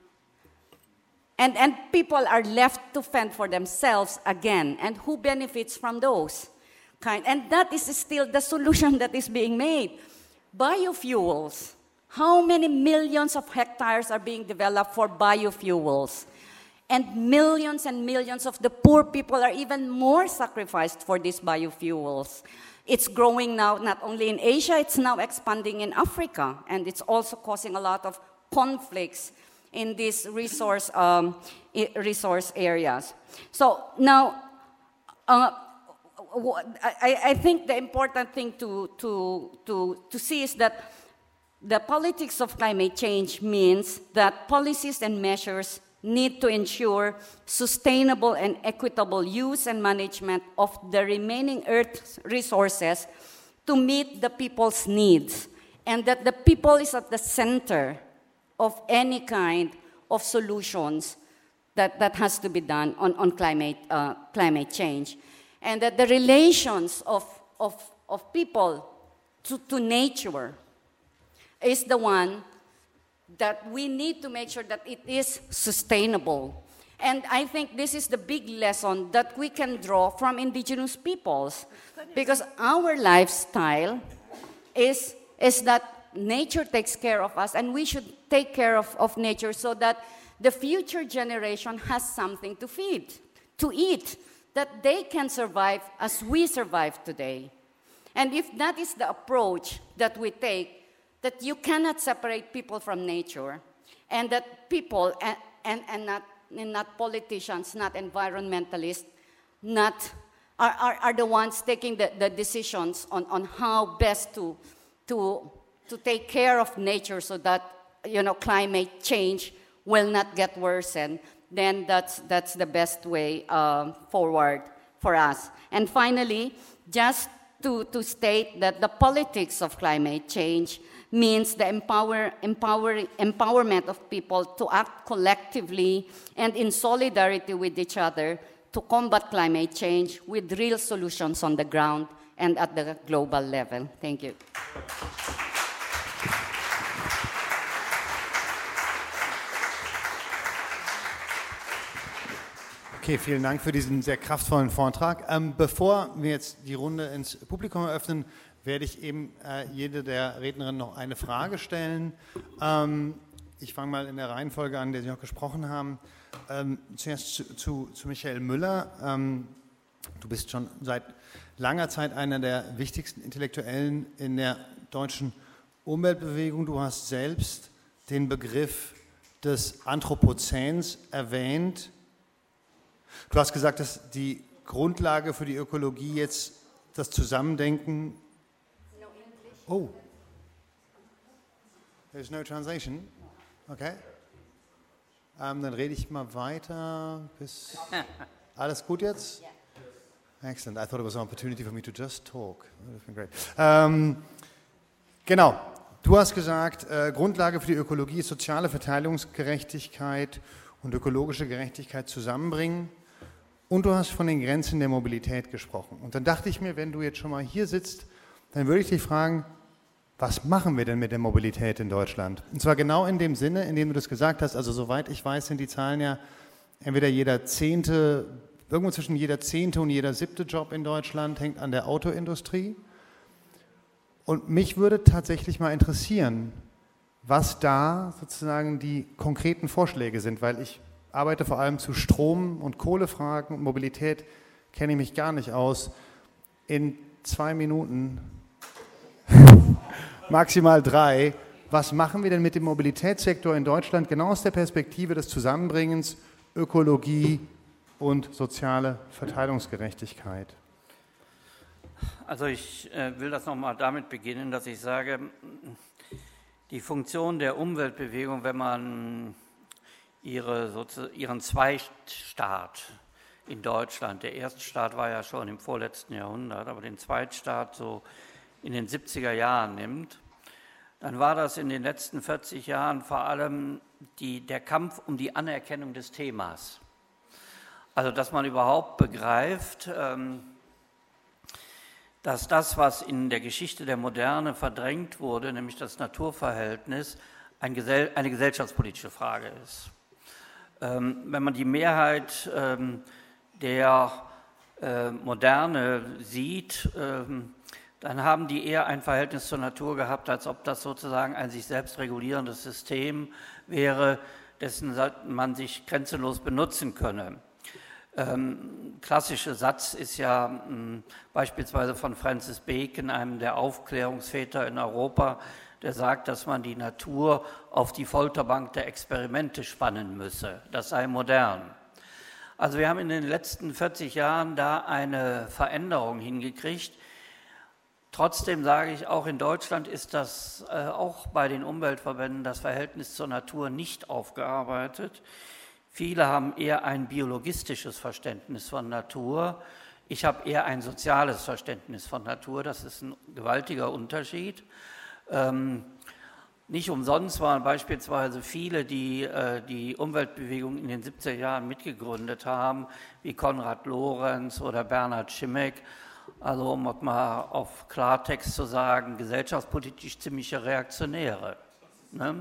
And people are left to fend for themselves again. And who benefits from those? And that is still the solution that is being made. Biofuels. How many millions of hectares are being developed for biofuels? And millions of the poor people are even more sacrificed for these biofuels. It's growing now not only in Asia, it's now expanding in Africa. And it's also causing a lot of conflicts in these resource areas. So now, I think the important thing to see is that the politics of climate change means that policies and measures need to ensure sustainable and equitable use and management of the remaining Earth resources to meet the people's needs, and that the people is at the center of any kind of solutions that has to be done on climate change. And that the relations of people to nature is the one that we need to make sure that it is sustainable. And I think this is the big lesson that we can draw from indigenous peoples, because our lifestyle is that nature takes care of us, and we should take care of nature so that the future generation has something to feed, to eat, that they can survive as we survive today. And if that is the approach that we take, that you cannot separate people from nature, and that people, and not politicians, not environmentalists, are the ones taking the decisions on how best to take care of nature so that, climate change will not get worsened, then that's the best way forward for us. And finally, just to state that the politics of climate change means the empowerment of people to act collectively and in solidarity with each other to combat climate change with real solutions on the ground and at the global level. Thank you. Okay, vielen Dank für diesen sehr kraftvollen Vortrag. Bevor wir jetzt die Runde ins Publikum eröffnen, werde ich eben jede der Rednerinnen noch eine Frage stellen. Ich fange mal in der Reihenfolge an, der Sie noch gesprochen haben. Zuerst zu Michael Müller. Du bist schon seit langer Zeit einer der wichtigsten Intellektuellen in der deutschen Umweltbewegung. Du hast selbst den Begriff des Anthropozäns erwähnt. Du hast gesagt, dass die Grundlage für die Ökologie jetzt das Zusammendenken... Oh, there's no translation? Okay. Dann rede ich mal weiter. Alles gut jetzt? Excellent. I thought it was an opportunity for me to just talk. That would have been great. Genau. Du hast gesagt, Grundlage für die Ökologie ist soziale Verteilungsgerechtigkeit und ökologische Gerechtigkeit zusammenbringen. Und du hast von den Grenzen der Mobilität gesprochen. Und dann dachte ich mir, wenn du jetzt schon mal hier sitzt, dann würde ich dich fragen, was machen wir denn mit der Mobilität in Deutschland? Und zwar genau in dem Sinne, in dem du das gesagt hast, also soweit ich weiß, sind die Zahlen ja entweder irgendwo zwischen jeder 10. und jeder 7. Job in Deutschland hängt an der Autoindustrie. Und mich würde tatsächlich mal interessieren, was da sozusagen die konkreten Vorschläge sind, weil ich arbeite vor allem zu Strom- und Kohlefragen und Mobilität kenne ich mich gar nicht aus. In 2 Minuten, maximal 3, was machen wir denn mit dem Mobilitätssektor in Deutschland genau aus der Perspektive des Zusammenbringens Ökologie und soziale Verteilungsgerechtigkeit? Also ich will das nochmal damit beginnen, dass ich sage, die Funktion der Umweltbewegung, wenn man ihren Zweitstaat in Deutschland, der Erststaat war ja schon im vorletzten Jahrhundert, aber den Zweitstaat so in den 70er Jahren nimmt, dann war das in den letzten 40 Jahren vor allem der Kampf um die Anerkennung des Themas. Also dass man überhaupt begreift, dass das, was in der Geschichte der Moderne verdrängt wurde, nämlich das Naturverhältnis, eine gesellschaftspolitische Frage ist. Wenn man die Mehrheit der Moderne sieht, dann haben die eher ein Verhältnis zur Natur gehabt, als ob das sozusagen ein sich selbst regulierendes System wäre, dessen man sich grenzenlos benutzen könne. Klassischer Satz ist ja beispielsweise von Francis Bacon, einem der Aufklärungsväter in Europa, der sagt, dass man die Natur auf die Folterbank der Experimente spannen müsse. Das sei modern. Also wir haben in den letzten 40 Jahren da eine Veränderung hingekriegt. Trotzdem sage ich, auch in Deutschland ist das auch bei den Umweltverbänden das Verhältnis zur Natur nicht aufgearbeitet. Viele haben eher ein biologistisches Verständnis von Natur. Ich habe eher ein soziales Verständnis von Natur. Das ist ein gewaltiger Unterschied. Nicht umsonst waren beispielsweise viele, die die Umweltbewegung in den 70er Jahren mitgegründet haben, wie Konrad Lorenz oder Bernhard Schimmeck, also um mal auf Klartext zu sagen, gesellschaftspolitisch ziemliche Reaktionäre. Ne?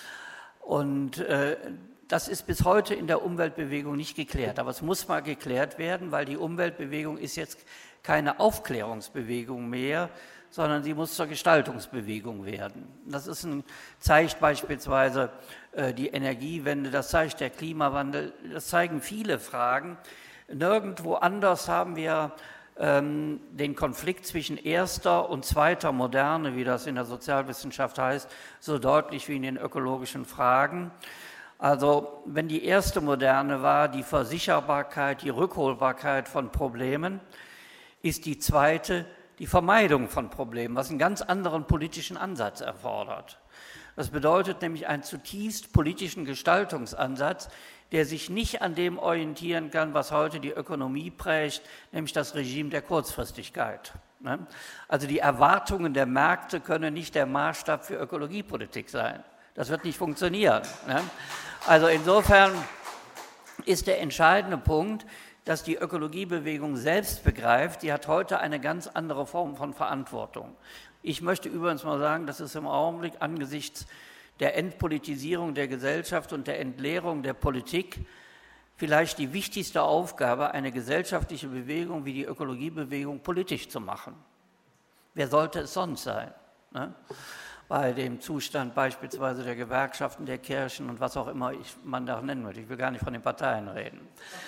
Und das ist bis heute in der Umweltbewegung nicht geklärt, aber es muss mal geklärt werden, weil die Umweltbewegung ist jetzt keine Aufklärungsbewegung mehr, sondern sie muss zur Gestaltungsbewegung werden. Das zeigt beispielsweise die Energiewende, das zeigt der Klimawandel, das zeigen viele Fragen. Nirgendwo anders haben wir den Konflikt zwischen erster und zweiter Moderne, wie das in der Sozialwissenschaft heißt, so deutlich wie in den ökologischen Fragen. Also wenn die erste Moderne war, die Versicherbarkeit, die Rückholbarkeit von Problemen, ist die zweite die Vermeidung von Problemen, was einen ganz anderen politischen Ansatz erfordert. Das bedeutet nämlich einen zutiefst politischen Gestaltungsansatz, der sich nicht an dem orientieren kann, was heute die Ökonomie prägt, nämlich das Regime der Kurzfristigkeit. Also die Erwartungen der Märkte können nicht der Maßstab für Ökologiepolitik sein. Das wird nicht funktionieren. Also insofern ist der entscheidende Punkt, dass die Ökologiebewegung selbst begreift, die hat heute eine ganz andere Form von Verantwortung. Ich möchte übrigens mal sagen, das ist im Augenblick angesichts der Entpolitisierung der Gesellschaft und der Entleerung der Politik vielleicht die wichtigste Aufgabe, eine gesellschaftliche Bewegung wie die Ökologiebewegung politisch zu machen. Wer sollte es sonst sein? Ne? Bei dem Zustand beispielsweise der Gewerkschaften, der Kirchen und was auch immer man da nennen möchte. Ich will gar nicht von den Parteien reden.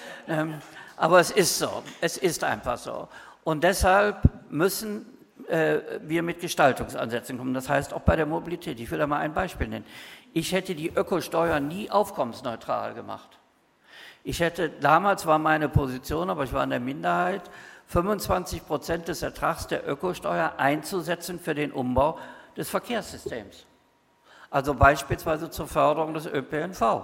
Aber es ist so, es ist einfach so. Und deshalb müssen wir mit Gestaltungsansätzen kommen. Das heißt auch bei der Mobilität. Ich will da mal ein Beispiel nennen. Ich hätte die Ökosteuer nie aufkommensneutral gemacht. Damals war meine Position, aber ich war in der Minderheit, 25% des Ertrags der Ökosteuer einzusetzen für den Umbau des Verkehrssystems. Also beispielsweise zur Förderung des ÖPNV.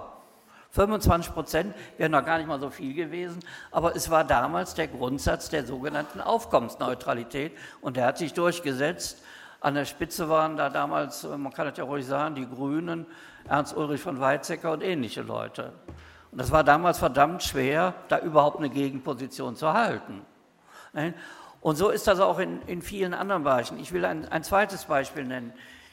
25% wären noch gar nicht mal so viel gewesen, aber es war damals der Grundsatz der sogenannten Aufkommensneutralität und der hat sich durchgesetzt. An der Spitze waren da damals, man kann das ja ruhig sagen, die Grünen, Ernst Ulrich von Weizsäcker und ähnliche Leute. Und das war damals verdammt schwer, da überhaupt eine Gegenposition zu halten. Und so ist das auch in vielen anderen Bereichen. Ich will ein zweites Beispiel nennen.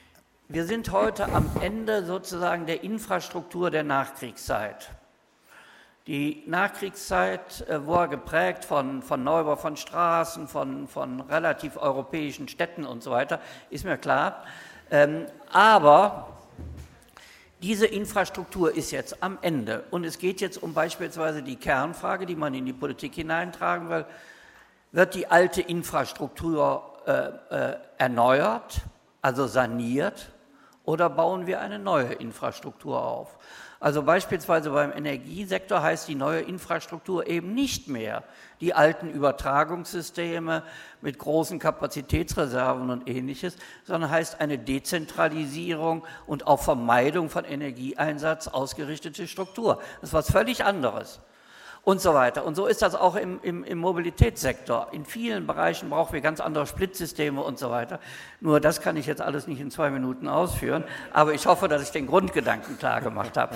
wir sind heute am Ende sozusagen der Infrastruktur der Nachkriegszeit. Die Nachkriegszeit war geprägt von Neubau von Straßen, von relativ europäischen Städten und so weiter, ist mir klar. Aber diese Infrastruktur ist jetzt am Ende und es geht jetzt um beispielsweise die Kernfrage, die man in die Politik hineintragen will. Wird die alte Infrastruktur erneuert, also saniert, oder bauen wir eine neue Infrastruktur auf? Also beispielsweise beim Energiesektor heißt die neue Infrastruktur eben nicht mehr die alten Übertragungssysteme mit großen Kapazitätsreserven und Ähnliches, sondern heißt eine Dezentralisierung und auf Vermeidung von Energieeinsatz ausgerichtete Struktur. Das ist was völlig anderes. Und so weiter. Und so ist das auch im Mobilitätssektor. In vielen Bereichen brauchen wir ganz andere Splitsysteme und so weiter. Nur das kann ich jetzt alles nicht in 2 Minuten ausführen, aber ich hoffe, dass ich den Grundgedanken klar gemacht habe.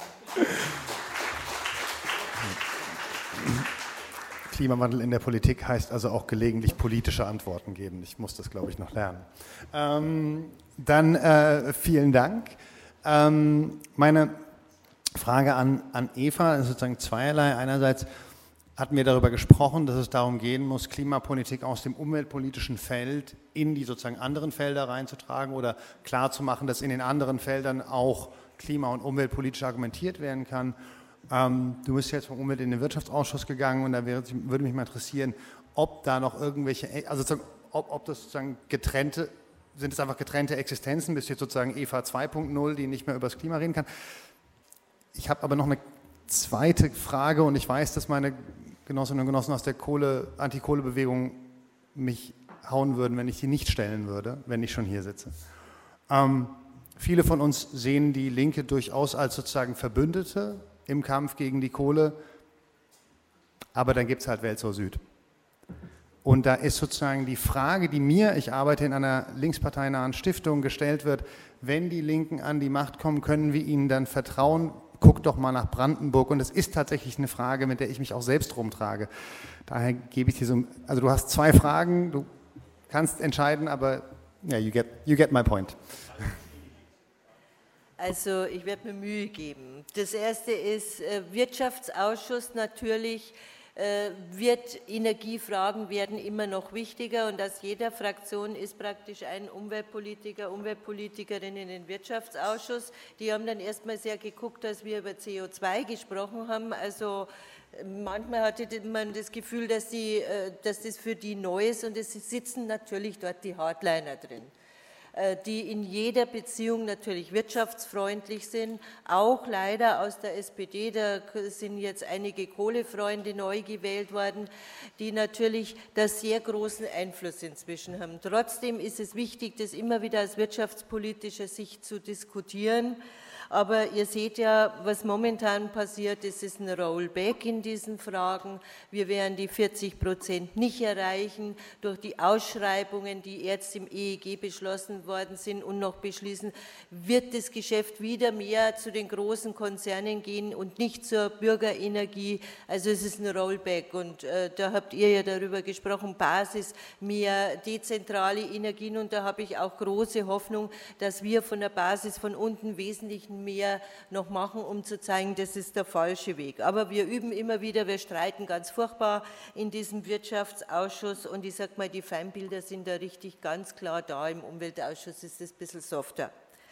Klimawandel in der Politik heißt also auch gelegentlich politische Antworten geben. Ich muss das, glaube ich, noch lernen. Dann vielen Dank. Meine Frage an Eva ist sozusagen zweierlei. Einerseits hatten wir darüber gesprochen, dass es darum gehen muss, Klimapolitik aus dem umweltpolitischen Feld in die sozusagen anderen Felder reinzutragen oder klarzumachen, dass in den anderen Feldern auch klima- und umweltpolitisch argumentiert werden kann. Du bist jetzt vom Umwelt- in den Wirtschaftsausschuss gegangen und da würde mich mal interessieren, ob da noch irgendwelche, also ob das sozusagen sind es einfach getrennte Existenzen, bist jetzt sozusagen Eva 2.0, die nicht mehr über das Klima reden kann. Ich habe aber noch eine zweite Frage und ich weiß, dass meine Genossinnen und Genossen aus der Antikohlebewegung mich hauen würden, wenn ich die nicht stellen würde, wenn ich schon hier sitze. Viele von uns sehen die Linke durchaus als sozusagen Verbündete im Kampf gegen die Kohle, aber dann gibt es halt Welt zur Süd. Und da ist sozusagen die Frage, die mir, ich arbeite in einer linksparteinahen Stiftung, gestellt wird, wenn die Linken an die Macht kommen, können wir ihnen dann vertrauen? Guck doch mal nach Brandenburg und es ist tatsächlich eine Frage, mit der ich mich auch selbst rumtrage. Daher gebe ich dir so, also du hast 2 Fragen, du kannst entscheiden, aber ja, you get my point. Also ich werde mir Mühe geben. Das erste ist Wirtschaftsausschuss natürlich. Energiefragen werden immer noch wichtiger und aus jeder Fraktion ist praktisch ein Umweltpolitiker, Umweltpolitikerin in den Wirtschaftsausschuss. Die haben dann erstmal sehr geguckt, dass wir über CO2 gesprochen haben. Also manchmal hatte man das Gefühl, dass das für die neu ist und es sitzen natürlich dort die Hardliner drin, die in jeder Beziehung natürlich wirtschaftsfreundlich sind, auch leider aus der SPD, da sind jetzt einige Kohlefreunde neu gewählt worden, die natürlich da sehr großen Einfluss inzwischen haben. Trotzdem ist es wichtig, das immer wieder aus wirtschaftspolitischer Sicht zu diskutieren. Aber ihr seht ja, was momentan passiert, es ist ein Rollback in diesen Fragen. Wir werden die 40% nicht erreichen durch die Ausschreibungen, die jetzt im EEG beschlossen worden sind und noch beschließen, wird das Geschäft wieder mehr zu den großen Konzernen gehen und nicht zur Bürgerenergie. Also es ist ein Rollback und da habt ihr ja darüber gesprochen, Basis, mehr dezentrale Energien und da habe ich auch große Hoffnung, dass wir von der Basis von unten wesentlich mehr noch machen, um zu zeigen, das ist der falsche Weg. Aber wir üben immer wieder, wir streiten ganz furchtbar in diesem Wirtschaftsausschuss und ich sage mal, die Feindbilder sind da richtig ganz klar da. Im Umweltausschuss ist es ein bisschen softer.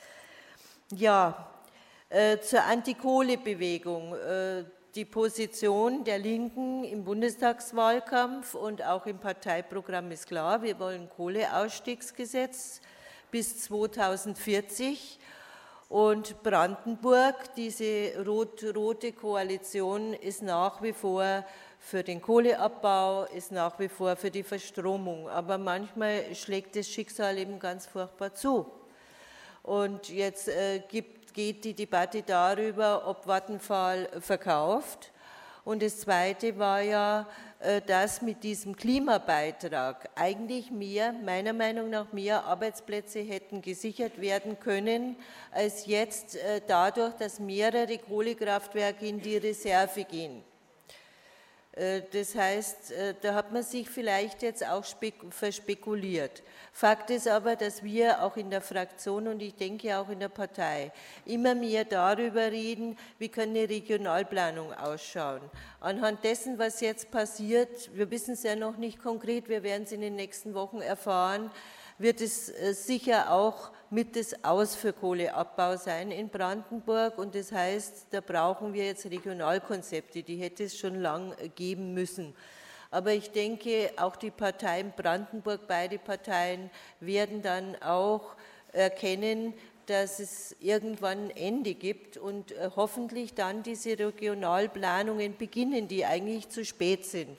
Ja, zur Antikohlebewegung. Die Position der Linken im Bundestagswahlkampf und auch im Parteiprogramm ist klar, wir wollen Kohleausstiegsgesetz bis 2040. Und Brandenburg, diese rot-rote Koalition, ist nach wie vor für den Kohleabbau, ist nach wie vor für die Verstromung. Aber manchmal schlägt das Schicksal eben ganz furchtbar zu. Und jetzt geht die Debatte darüber, ob Vattenfall verkauft. Und das Zweite war ja, dass mit diesem Klimabeitrag eigentlich meiner Meinung nach mehr Arbeitsplätze hätten gesichert werden können, als jetzt dadurch, dass mehrere Kohlekraftwerke in die Reserve gehen. Das heißt, da hat man sich vielleicht jetzt auch verspekuliert. Fakt ist aber, dass wir auch in der Fraktion und ich denke auch in der Partei immer mehr darüber reden, wie kann eine Regionalplanung ausschauen. Anhand dessen, was jetzt passiert, wir wissen es ja noch nicht konkret, wir werden es in den nächsten Wochen erfahren, wird es sicher auch mit das Aus für Kohleabbau sein in Brandenburg. Und das heißt, da brauchen wir jetzt Regionalkonzepte, die hätte es schon lang geben müssen. Aber ich denke, auch die Parteien Brandenburg, beide Parteien, werden dann auch erkennen, dass es irgendwann ein Ende gibt und hoffentlich dann diese Regionalplanungen beginnen, die eigentlich zu spät sind.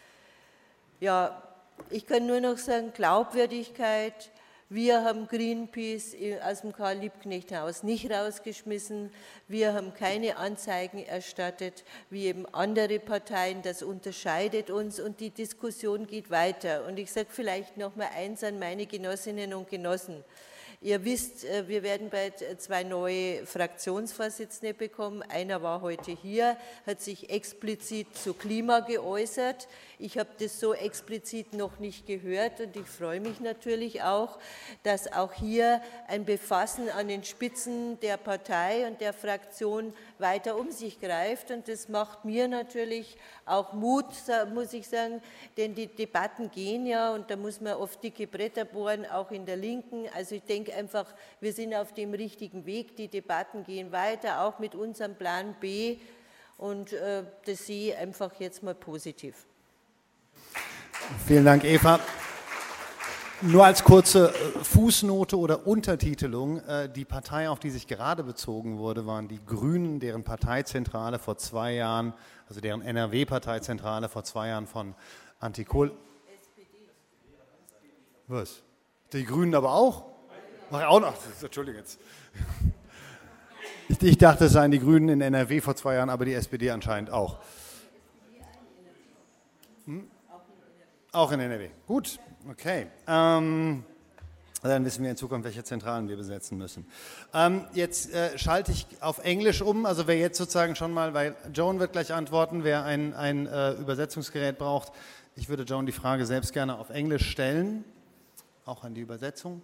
Ja, ich kann nur noch sagen, Glaubwürdigkeit. Wir haben Greenpeace aus dem Karl-Liebknecht-Haus nicht rausgeschmissen. Wir haben keine Anzeigen erstattet, wie eben andere Parteien. Das unterscheidet uns und die Diskussion geht weiter. Und ich sage vielleicht noch mal eins an meine Genossinnen und Genossen. Ihr wisst, wir werden bald 2 neue Fraktionsvorsitzende bekommen. Einer war heute hier, hat sich explizit zu Klima geäußert. Ich habe das so explizit noch nicht gehört und ich freue mich natürlich auch, dass auch hier ein Befassen an den Spitzen der Partei und der Fraktion weiter um sich greift. Und das macht mir natürlich auch Mut, muss ich sagen, denn die Debatten gehen ja und da muss man oft dicke Bretter bohren, auch in der Linken. Also ich denke einfach, wir sind auf dem richtigen Weg, die Debatten gehen weiter, auch mit unserem Plan B und das sehe ich einfach jetzt mal positiv. Vielen Dank, Eva. Nur als kurze Fußnote oder Untertitelung, die Partei, auf die sich gerade bezogen wurde, waren die Grünen, deren Parteizentrale vor 2 Jahren, also deren NRW-Parteizentrale vor 2 Jahren von Antikohl... Was? Die Grünen aber auch? Ach, auch noch, Entschuldigung jetzt. Ich dachte, es seien die Grünen in NRW vor 2 Jahren, aber die SPD anscheinend auch. Auch in NRW. Gut, okay. Dann wissen wir in Zukunft, welche Zentralen wir besetzen müssen. Jetzt schalte ich auf Englisch um. Also wer jetzt sozusagen schon mal, weil Joan wird gleich antworten, wer ein Übersetzungsgerät braucht. Ich würde Joan die Frage selbst gerne auf Englisch stellen, auch an die Übersetzung.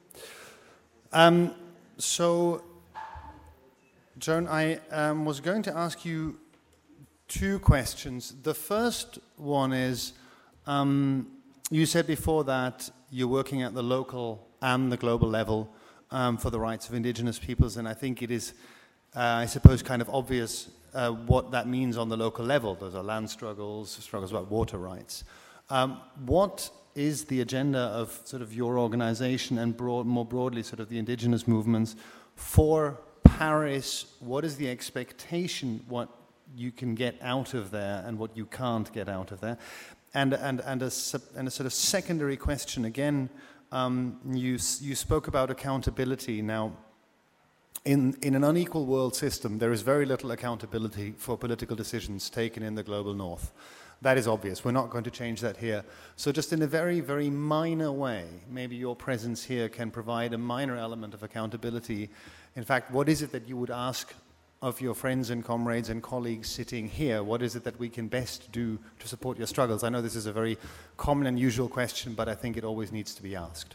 So, Joan, I was going to ask you 2 questions. The first one is, you said before that you're working at the local and the global level for the rights of indigenous peoples, and I think it is, I suppose, kind of obvious what that means on the local level. Those are land struggles about water rights. What is the agenda of sort of your organization and more broadly sort of the indigenous movements for Paris? What is the expectation, what you can get out of there and what you can't get out of there? And a sort of secondary question again, you spoke about accountability. Now, in an unequal world system, there is very little accountability for political decisions taken in the global north. That is obvious. We're not going to change that here. So just in a very, very minor way, maybe your presence here can provide a minor element of accountability. In fact, what is it that you would ask of your friends and comrades and colleagues sitting here? What is it that we can best do to support your struggles? I know this is a very common and usual question, but I think it always needs to be asked.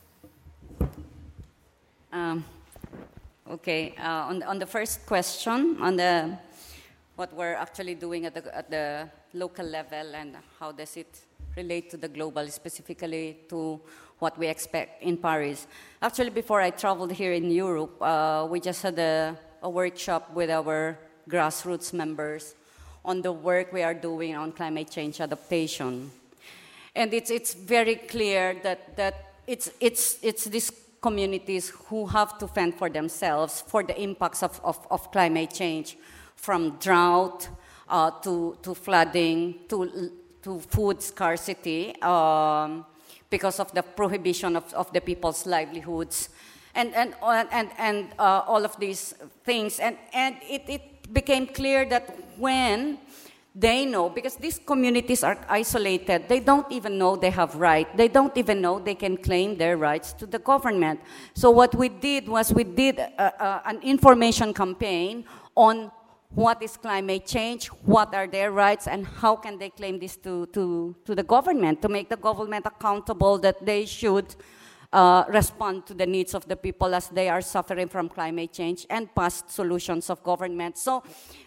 Okay, on the first question, on the what we're actually doing at the local level and how does it relate to the global, specifically to what we expect in Paris. Actually, before I traveled here in Europe, we just had a workshop with our grassroots members on the work we are doing on climate change adaptation. And it's very clear that it's these communities who have to fend for themselves for the impacts of climate change, from drought to flooding to food scarcity because of the prohibition of the people's livelihoods and all of these things. And it became clear that when they know, because these communities are isolated, they don't even know they have rights. They don't even know they can claim their rights to the government. So what we did was we did an information campaign on what is climate change, what are their rights, and how can they claim this to the government, to make the government accountable that they should respond to the needs of the people as they are suffering from climate change and past solutions of government. So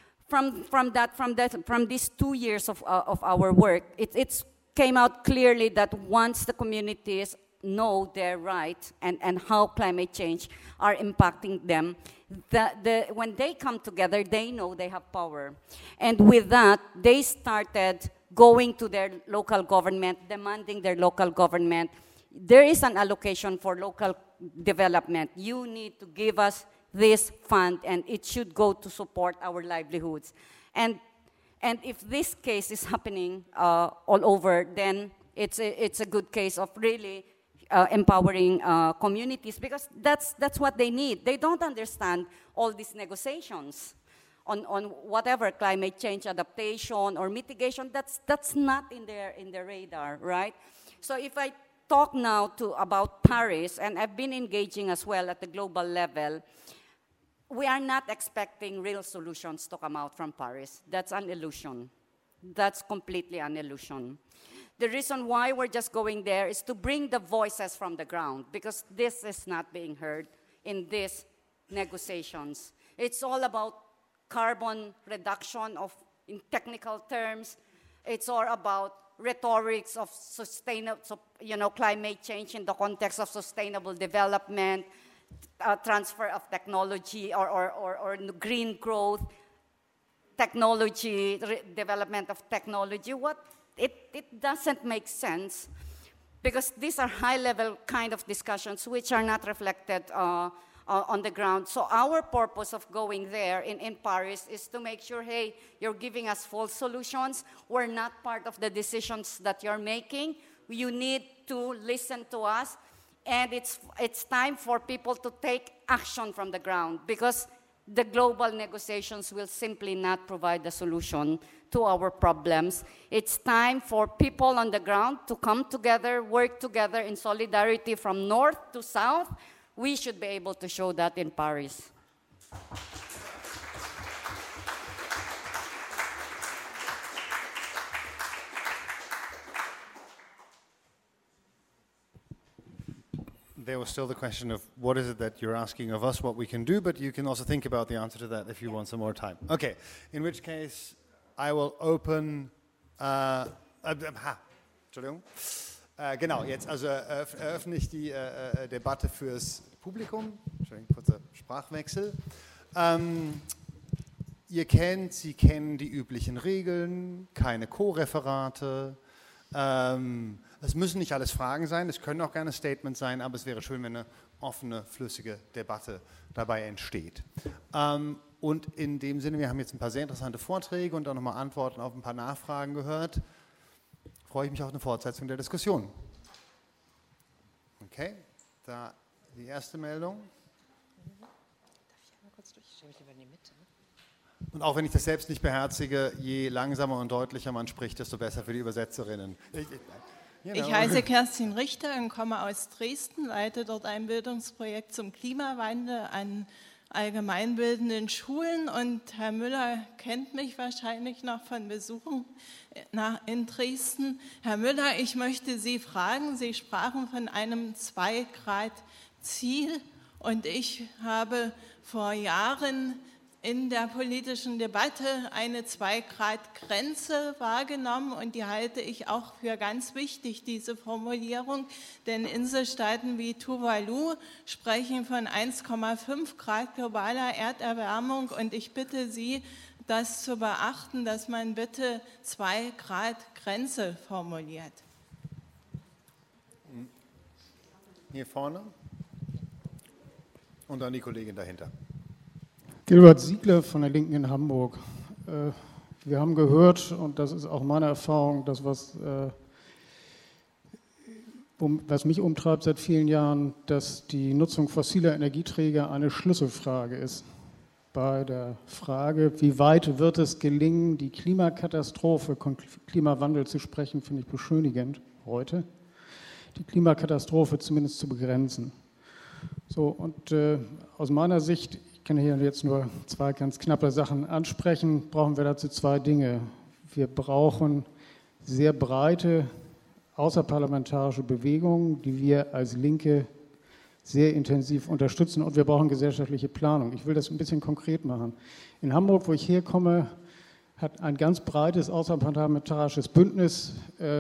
from these 2 years of our work, it came out clearly that once the communities know their right and how climate change are impacting them, when they come together, they know they have power. And with that, they started going to their local government, demanding their local government, there is an allocation for local development. You need to give us this fund, and it should go to support our livelihoods. And if this case is happening all over, then it's a good case of really empowering communities, because that's what they need. They don't understand all these negotiations on whatever climate change adaptation or mitigation. That's not in their radar, right? So if I talk now about Paris, and I've been engaging as well at the global level, we are not expecting real solutions to come out from Paris. That's an illusion. That's completely an illusion. The reason why we're just going there is to bring the voices from the ground, because this is not being heard in these negotiations. It's all about carbon reduction in technical terms. It's all about rhetorics of climate change in the context of sustainable development, transfer of technology or green growth, technology, development of technology. It doesn't make sense, because these are high-level kind of discussions which are not reflected on the ground. So our purpose of going there in Paris is to make sure, hey, you're giving us false solutions. We're not part of the decisions that you're making. You need to listen to us. And it's time for people to take action from the ground, because the global negotiations will simply not provide the solution to our problems. It's time for people on the ground to come together, work together in solidarity from north to south. We should be able to show that in Paris. There was still the question of what is it that you're asking of us, what we can do, but you can also think about the answer to that if you want some more time. Okay, in which case I will open... Entschuldigung. Genau, jetzt also eröffne ich die Debatte fürs Publikum. Entschuldigung, kurzer Sprachwechsel. Sie kennen die üblichen Regeln, keine Co-Referate. Es müssen nicht alles Fragen sein, es können auch gerne Statements sein, aber es wäre schön, wenn eine offene, flüssige Debatte dabei entsteht. Und in dem Sinne, wir haben jetzt ein paar sehr interessante Vorträge und auch nochmal Antworten auf ein paar Nachfragen gehört, freue ich mich auf eine Fortsetzung der Diskussion. Okay, da die erste Meldung. Darf ich einmal kurz durch? Ich stelle mich lieber in die Mitte. Und auch wenn ich das selbst nicht beherzige, je langsamer und deutlicher man spricht, desto besser für die Übersetzerinnen. Ich heiße Kerstin Richter und komme aus Dresden, leite dort ein Bildungsprojekt zum Klimawandel an allgemeinbildenden Schulen. Und Herr Müller kennt mich wahrscheinlich noch von Besuchen in Dresden. Herr Müller, ich möchte Sie fragen, Sie sprachen von einem 2-Grad-Ziel, und ich habe vor Jahren in der politischen Debatte eine 2-Grad-Grenze wahrgenommen, und die halte ich auch für ganz wichtig, diese Formulierung, denn Inselstaaten wie Tuvalu sprechen von 1,5 Grad globaler Erderwärmung, und ich bitte Sie, das zu beachten, dass man bitte 2-Grad-Grenze formuliert. Hier vorne und dann die Kollegin dahinter. Gilbert Siegler von der Linken in Hamburg. Wir haben gehört, und das ist auch meine Erfahrung, das, was mich umtreibt seit vielen Jahren, dass die Nutzung fossiler Energieträger eine Schlüsselfrage ist. Bei der Frage, wie weit wird es gelingen, die Klimakatastrophe, Klimawandel zu sprechen, finde ich beschönigend heute, die Klimakatastrophe zumindest zu begrenzen. So, und aus meiner Sicht Ich kann hier jetzt nur 2 ganz knappe Sachen ansprechen. Brauchen wir dazu 2 Dinge. Wir brauchen sehr breite außerparlamentarische Bewegungen, die wir als Linke sehr intensiv unterstützen, und wir brauchen gesellschaftliche Planung. Ich will das ein bisschen konkret machen. In Hamburg, wo ich herkomme, hat ein ganz breites außerparlamentarisches Bündnis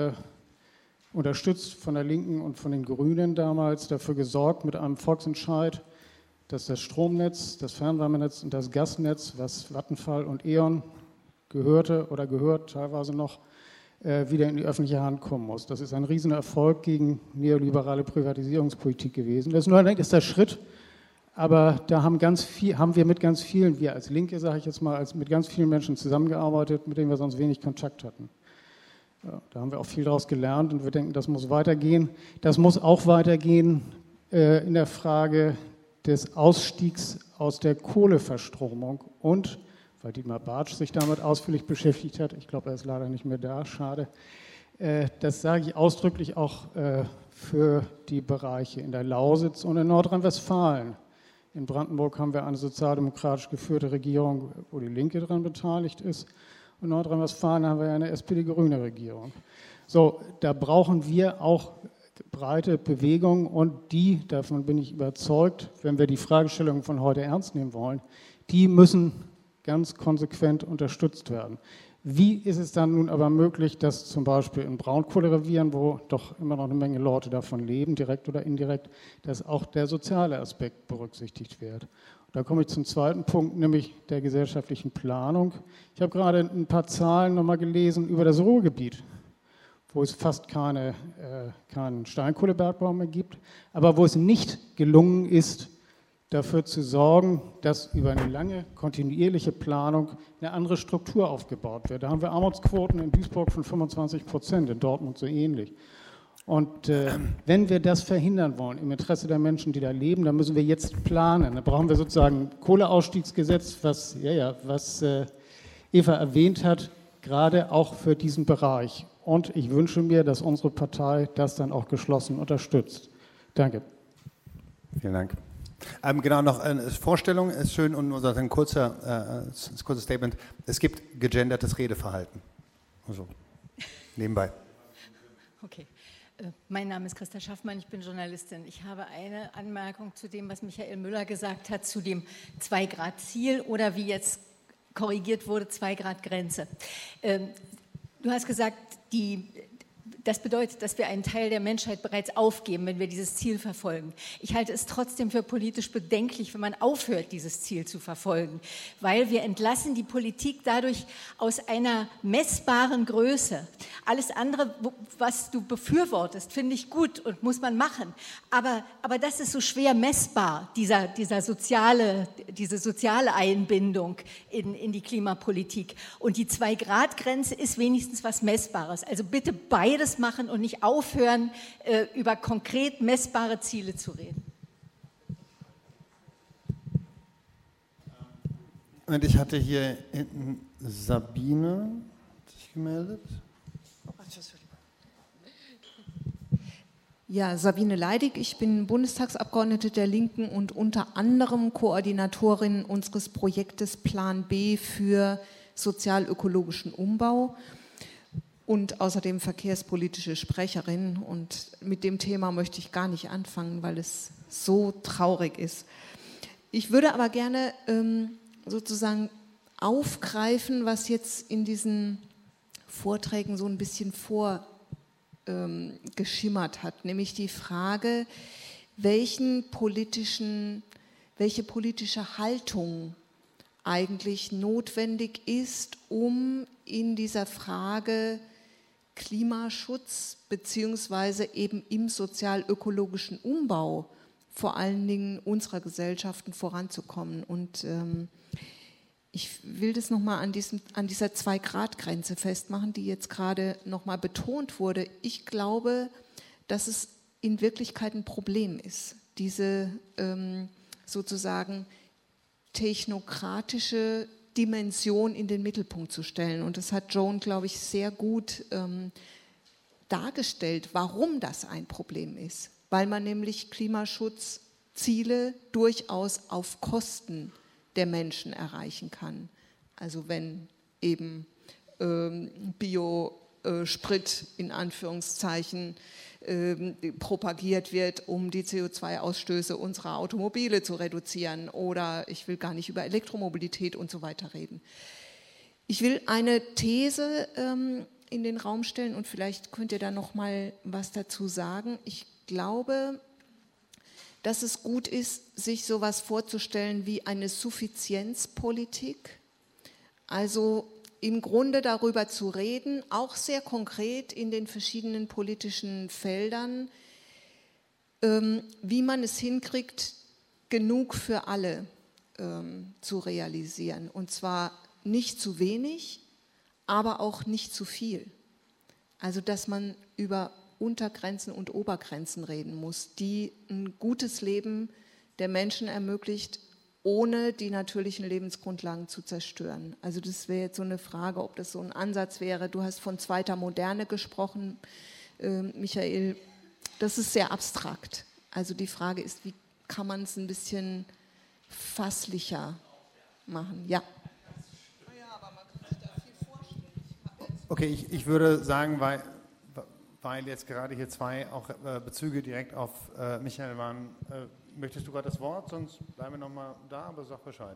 unterstützt von der Linken und von den Grünen damals, dafür gesorgt mit einem Volksentscheid, dass das Stromnetz, das Fernwärmenetz und das Gasnetz, was Vattenfall und E.ON gehörte oder gehört teilweise noch, wieder in die öffentliche Hand kommen muss. Das ist ein Riesenerfolg gegen neoliberale Privatisierungspolitik gewesen. Das ist nur ein erster Schritt, aber da haben wir mit ganz vielen, wir als Linke, sage ich jetzt mal, mit ganz vielen Menschen zusammengearbeitet, mit denen wir sonst wenig Kontakt hatten. Ja, da haben wir auch viel daraus gelernt und wir denken, das muss weitergehen. Das muss auch weitergehen in der Frage des Ausstiegs aus der Kohleverstromung und, weil Dietmar Bartsch sich damit ausführlich beschäftigt hat, ich glaube, er ist leider nicht mehr da, schade, das sage ich ausdrücklich auch für die Bereiche in der Lausitz und in Nordrhein-Westfalen. In Brandenburg haben wir eine sozialdemokratisch geführte Regierung, wo die Linke daran beteiligt ist. Und in Nordrhein-Westfalen haben wir eine SPD-grüne Regierung. So, da brauchen wir auch breite Bewegungen und die, davon bin ich überzeugt, wenn wir die Fragestellungen von heute ernst nehmen wollen, die müssen ganz konsequent unterstützt werden. Wie ist es dann nun aber möglich, dass zum Beispiel in Braunkohlerevieren, wo doch immer noch eine Menge Leute davon leben, direkt oder indirekt, dass auch der soziale Aspekt berücksichtigt wird? Und da komme ich zum zweiten Punkt, nämlich der gesellschaftlichen Planung. Ich habe gerade ein paar Zahlen nochmal gelesen über das Ruhrgebiet, wo es fast keinen Steinkohlebergbau mehr gibt, aber wo es nicht gelungen ist, dafür zu sorgen, dass über eine lange, kontinuierliche Planung eine andere Struktur aufgebaut wird. Da haben wir Armutsquoten in Duisburg von 25%, in Dortmund so ähnlich. Und wenn wir das verhindern wollen, im Interesse der Menschen, die da leben, dann müssen wir jetzt planen. Da brauchen wir sozusagen ein Kohleausstiegsgesetz, was Eva erwähnt hat, gerade auch für diesen Bereich. Und ich wünsche mir, dass unsere Partei das dann auch geschlossen unterstützt. Danke. Vielen Dank. Genau, noch eine Vorstellung ist schön und nur ein kurzes Statement. Es gibt gegendertes Redeverhalten. Also, nebenbei. Okay. Mein Name ist Christa Schaffmann, ich bin Journalistin. Ich habe eine Anmerkung zu dem, was Michael Müller gesagt hat, zu dem 2-Grad-Ziel oder wie jetzt korrigiert wurde, 2-Grad-Grenze. Du hast gesagt, das bedeutet, dass wir einen Teil der Menschheit bereits aufgeben, wenn wir dieses Ziel verfolgen. Ich halte es trotzdem für politisch bedenklich, wenn man aufhört, dieses Ziel zu verfolgen, weil wir entlassen die Politik dadurch aus einer messbaren Größe. Alles andere, was du befürwortest, finde ich gut und muss man machen. Aber das ist so schwer messbar, diese soziale Einbindung in die Klimapolitik. Und die 2-Grad-Grenze ist wenigstens was Messbares. Also bitte beides machen und nicht aufhören, über konkret messbare Ziele zu reden. Und ich hatte hier hinten Sabine sich gemeldet. Ja, Sabine Leidig, ich bin Bundestagsabgeordnete der Linken und unter anderem Koordinatorin unseres Projektes Plan B für sozial-ökologischen Umbau und außerdem verkehrspolitische Sprecherin. Und mit dem Thema möchte ich gar nicht anfangen, weil es so traurig ist. Ich würde aber gerne sozusagen aufgreifen, was jetzt in diesen Vorträgen so ein bisschen vorgeschimmert hat, nämlich die Frage, welche politische Haltung eigentlich notwendig ist, um in dieser Frage Klimaschutz beziehungsweise eben im sozial-ökologischen Umbau vor allen Dingen unserer Gesellschaften voranzukommen. Und ich will das nochmal an dieser 2-Grad-Grenze festmachen, die jetzt gerade nochmal betont wurde. Ich glaube, dass es in Wirklichkeit ein Problem ist, diese sozusagen technokratische Dimension in den Mittelpunkt zu stellen. Und das hat Joan, glaube ich, sehr gut dargestellt, warum das ein Problem ist. Weil man nämlich Klimaschutzziele durchaus auf Kosten der Menschen erreichen kann. Also wenn eben Biosprit in Anführungszeichen propagiert wird, um die CO2-Ausstöße unserer Automobile zu reduzieren, oder ich will gar nicht über Elektromobilität und so weiter reden. Ich will eine These in den Raum stellen und vielleicht könnt ihr da noch mal was dazu sagen. Ich glaube, dass es gut ist, sich sowas vorzustellen wie eine Suffizienzpolitik, also im Grunde darüber zu reden, auch sehr konkret in den verschiedenen politischen Feldern, wie man es hinkriegt, genug für alle zu realisieren. Und zwar nicht zu wenig, aber auch nicht zu viel. Also dass man über Untergrenzen und Obergrenzen reden muss, die ein gutes Leben der Menschen ermöglicht, ohne die natürlichen Lebensgrundlagen zu zerstören. Also das wäre jetzt so eine Frage, ob das so ein Ansatz wäre. Du hast von zweiter Moderne gesprochen, Michael. Das ist sehr abstrakt. Also die Frage ist, wie kann man es ein bisschen fasslicher machen? Ja. Okay, ich würde sagen, weil jetzt gerade hier zwei auch Bezüge direkt auf Michael waren, möchtest du gerade das Wort? Sonst bleiben wir nochmal da, aber sag Bescheid.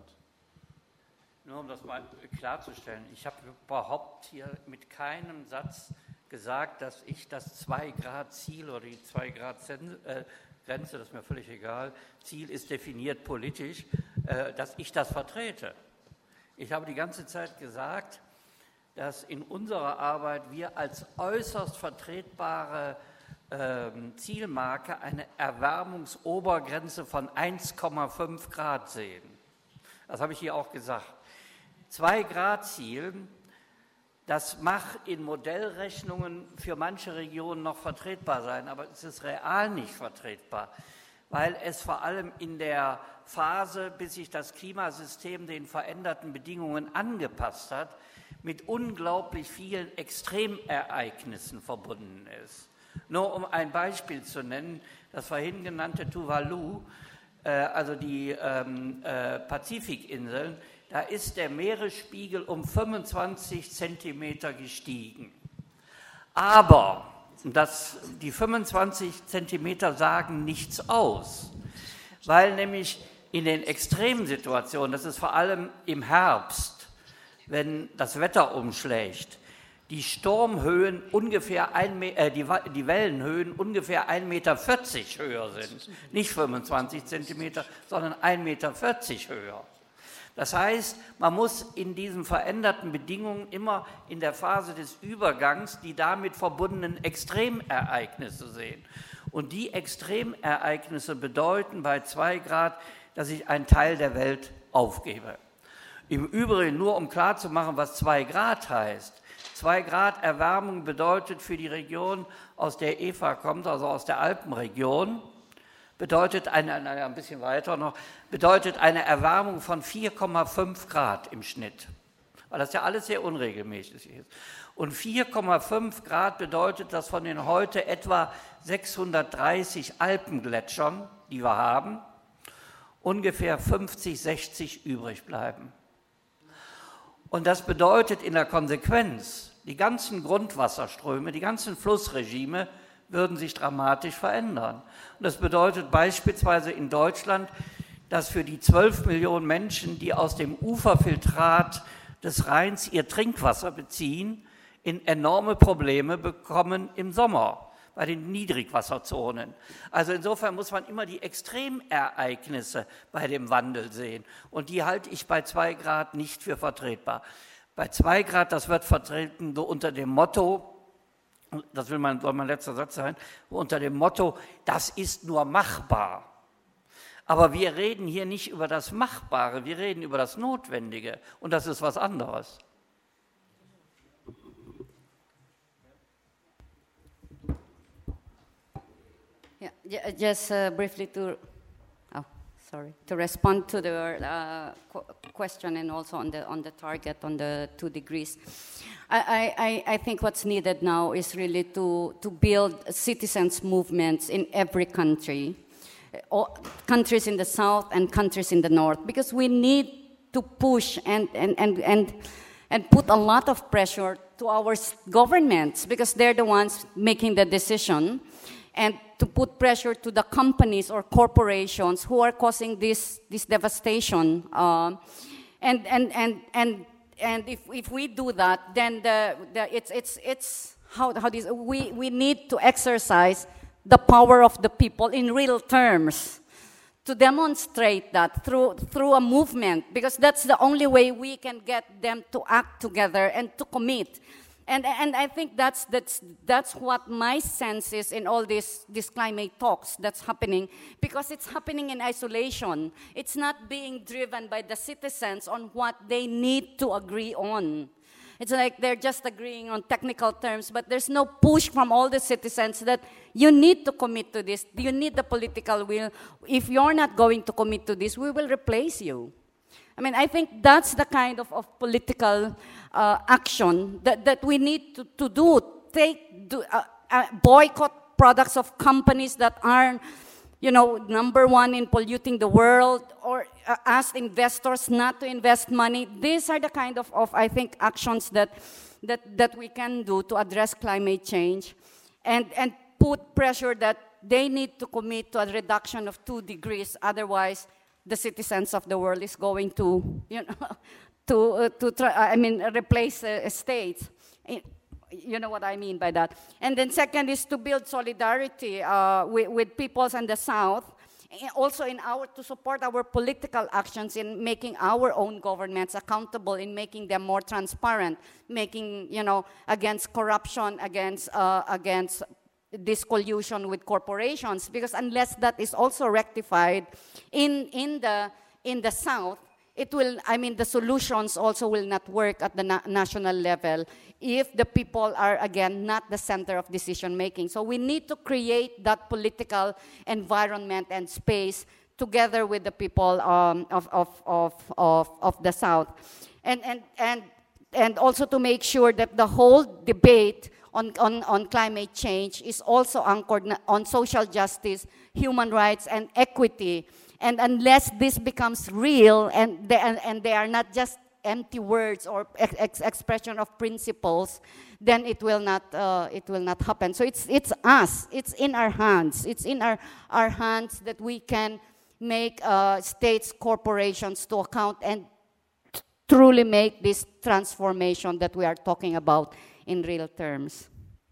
Nur um das mal klarzustellen, ich habe überhaupt hier mit keinem Satz gesagt, dass ich das 2-Grad-Ziel oder die 2-Grad-Grenze, das ist mir völlig egal, Ziel ist definiert politisch, dass ich das vertrete. Ich habe die ganze Zeit gesagt, dass in unserer Arbeit wir als äußerst vertretbare Zielmarke eine Erwärmungsobergrenze von 1,5 Grad sehen. Das habe ich hier auch gesagt. 2-Grad-Ziel, das mag in Modellrechnungen für manche Regionen noch vertretbar sein, aber es ist real nicht vertretbar, weil es vor allem in der Phase, bis sich das Klimasystem den veränderten Bedingungen angepasst hat, mit unglaublich vielen Extremereignissen verbunden ist. Nur um ein Beispiel zu nennen, das vorhin genannte Tuvalu, also die Pazifikinseln, da ist der Meeresspiegel um 25 Zentimeter gestiegen. Aber die 25 Zentimeter sagen nichts aus, weil nämlich in den Extremsituationen, das ist vor allem im Herbst, wenn das Wetter umschlägt, die Sturmhöhen ungefähr die Wellenhöhen ungefähr 1,40 Meter höher sind. Nicht 25 Zentimeter, sondern 1,40 Meter höher. Das heißt, man muss in diesen veränderten Bedingungen immer in der Phase des Übergangs die damit verbundenen Extremereignisse sehen. Und die Extremereignisse bedeuten bei 2 Grad, dass ich einen Teil der Welt aufgebe. Im Übrigen, nur um klarzumachen, was 2 Grad heißt. 2 Grad Erwärmung bedeutet für die Region, aus der Eva kommt, also aus der Alpenregion, bedeutet ein bisschen weiter noch, bedeutet eine Erwärmung von 4,5 Grad im Schnitt, weil das ja alles sehr unregelmäßig ist. Und 4,5 Grad bedeutet, dass von den heute etwa 630 Alpengletschern, die wir haben, ungefähr 50, 60 übrig bleiben. Und das bedeutet in der Konsequenz, die ganzen Grundwasserströme, die ganzen Flussregime würden sich dramatisch verändern. Und das bedeutet beispielsweise in Deutschland, dass für die 12 Millionen Menschen, die aus dem Uferfiltrat des Rheins ihr Trinkwasser beziehen, enorme Probleme bekommen im Sommer bei den Niedrigwasserzonen. Also insofern muss man immer die Extremereignisse bei dem Wandel sehen. Und die halte ich bei 2 Grad nicht für vertretbar. Bei 2 Grad, das wird vertreten so unter dem Motto, das soll mein letzter Satz sein, unter dem Motto, das ist nur machbar. Aber wir reden hier nicht über das Machbare, wir reden über das Notwendige. Und das ist was anderes. Yeah, just briefly to respond to the question and also on the target on the 2 degrees. I think what's needed now is really to build citizens' movements in every country, countries in the south and countries in the north, because we need to push and put a lot of pressure to our governments, because they're the ones making the decision, and to put pressure to the companies or corporations who are causing this devastation. And if we do that, then we need to exercise the power of the people in real terms, to demonstrate that through a movement, because that's the only way we can get them to act together and to commit. And I think that's what my sense is in all these climate talks that's happening, because it's happening in isolation. It's not being driven by the citizens on what they need to agree on. It's like they're just agreeing on technical terms, but there's no push from all the citizens that you need to commit to this. You need the political will. If you're not going to commit to this, we will replace you. I mean, I think that's the kind of political action that we need to do. Boycott products of companies that aren't, number one in polluting the world, or ask investors not to invest money. These are the kind of I think, actions that we can do to address climate change, and put pressure that they need to commit to a reduction of 2 degrees. Otherwise, the citizens of the world is going to, replace states. You know what I mean by that. And then second is to build solidarity with peoples in the South, also to support our political actions in making our own governments accountable, in making them more transparent, making, against corruption, against this collusion with corporations, because unless that is also rectified in the South, the solutions also will not work at the national level if the people are, again, not the center of decision making. So we need to create that political environment and space together with the people of the South, and also to make sure that the whole debate on climate change is also anchored on social justice, human rights, and equity. And unless this becomes real, and they are not just empty words or expression of principles, then it will not happen. So it's us. It's in our hands. It's in our hands that we can make states, corporations to account and truly make this transformation that we are talking about in real terms.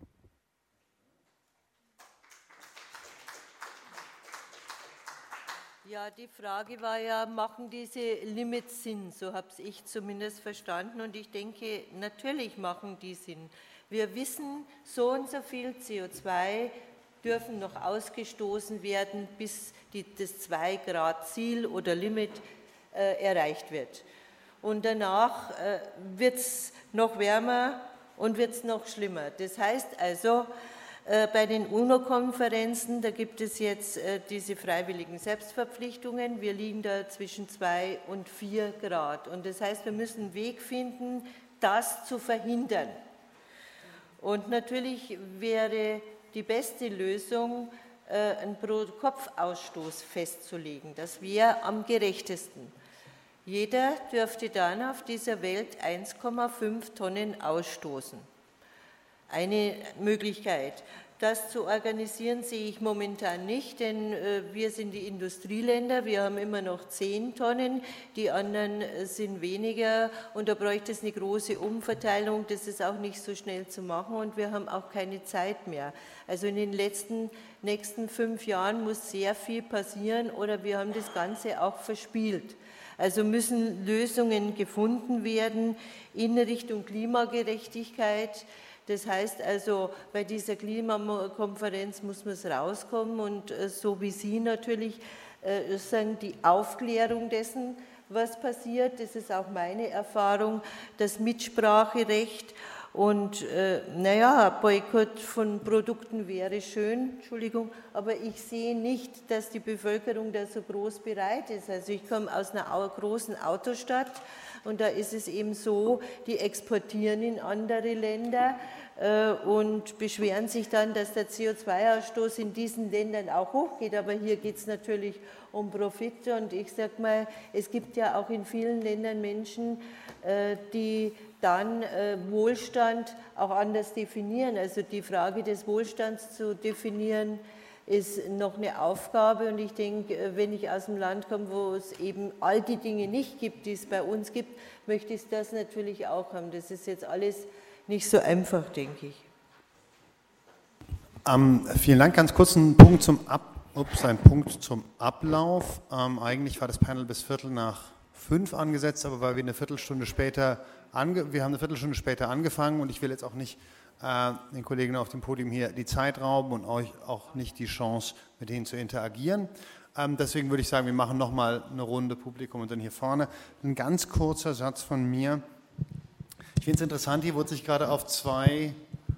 Ja, die Frage war ja, machen diese Limits Sinn? So habe ich zumindest verstanden, und ich denke, natürlich machen die Sinn. Wir wissen, so und so viel CO2 dürfen noch ausgestoßen werden, bis das 2-Grad-Ziel oder Limit erreicht wird. Und danach wird es noch wärmer und wird es noch schlimmer. Das heißt also, bei den UNO-Konferenzen, da gibt es jetzt diese freiwilligen Selbstverpflichtungen. Wir liegen da zwischen 2 und 4 Grad. Und das heißt, wir müssen einen Weg finden, das zu verhindern. Und natürlich wäre die beste Lösung, einen Pro-Kopf-Ausstoß festzulegen. Das wäre am gerechtesten. Jeder dürfte dann auf dieser Welt 1,5 Tonnen ausstoßen. Eine Möglichkeit. Das zu organisieren sehe ich momentan nicht, denn wir sind die Industrieländer, wir haben immer noch 10 Tonnen, die anderen sind weniger, und da bräuchte es eine große Umverteilung, das ist auch nicht so schnell zu machen, und wir haben auch keine Zeit mehr. Also in den nächsten 5 Jahren muss sehr viel passieren, oder wir haben das Ganze auch verspielt. Also müssen Lösungen gefunden werden in Richtung Klimagerechtigkeit. Das heißt also, bei dieser Klimakonferenz muss man es rauskommen, und so wie Sie natürlich sagen, die Aufklärung dessen, was passiert, das ist auch meine Erfahrung, das Mitspracherecht Und naja, Boykott von Produkten wäre schön, Entschuldigung, aber ich sehe nicht, dass die Bevölkerung da so groß bereit ist. Also ich komme aus einer großen Autostadt und da ist es eben so, die exportieren in andere Länder und beschweren sich dann, dass der CO2-Ausstoß in diesen Ländern auch hochgeht. Aber hier geht es natürlich um Profit und ich sage mal, es gibt ja auch in vielen Ländern Menschen, die dann Wohlstand auch anders definieren. Also die Frage des Wohlstands zu definieren, ist noch eine Aufgabe. Und ich denke, wenn ich aus dem Land komme, wo es eben all die Dinge nicht gibt, die es bei uns gibt, möchte ich das natürlich auch haben. Das ist jetzt alles nicht so einfach, denke ich. Vielen Dank. Ganz kurz ein Punkt zum Ablauf. Eigentlich war das Panel bis 4:45 angesetzt, aber weil wir eine Viertelstunde später angefangen und ich will jetzt auch nicht den Kollegen auf dem Podium hier die Zeit rauben und euch auch nicht die Chance, mit denen zu interagieren. Deswegen würde ich sagen, wir machen nochmal eine Runde Publikum und dann hier vorne. Ein ganz kurzer Satz von mir. Ich finde es interessant, hier wurde sich gerade auf zwei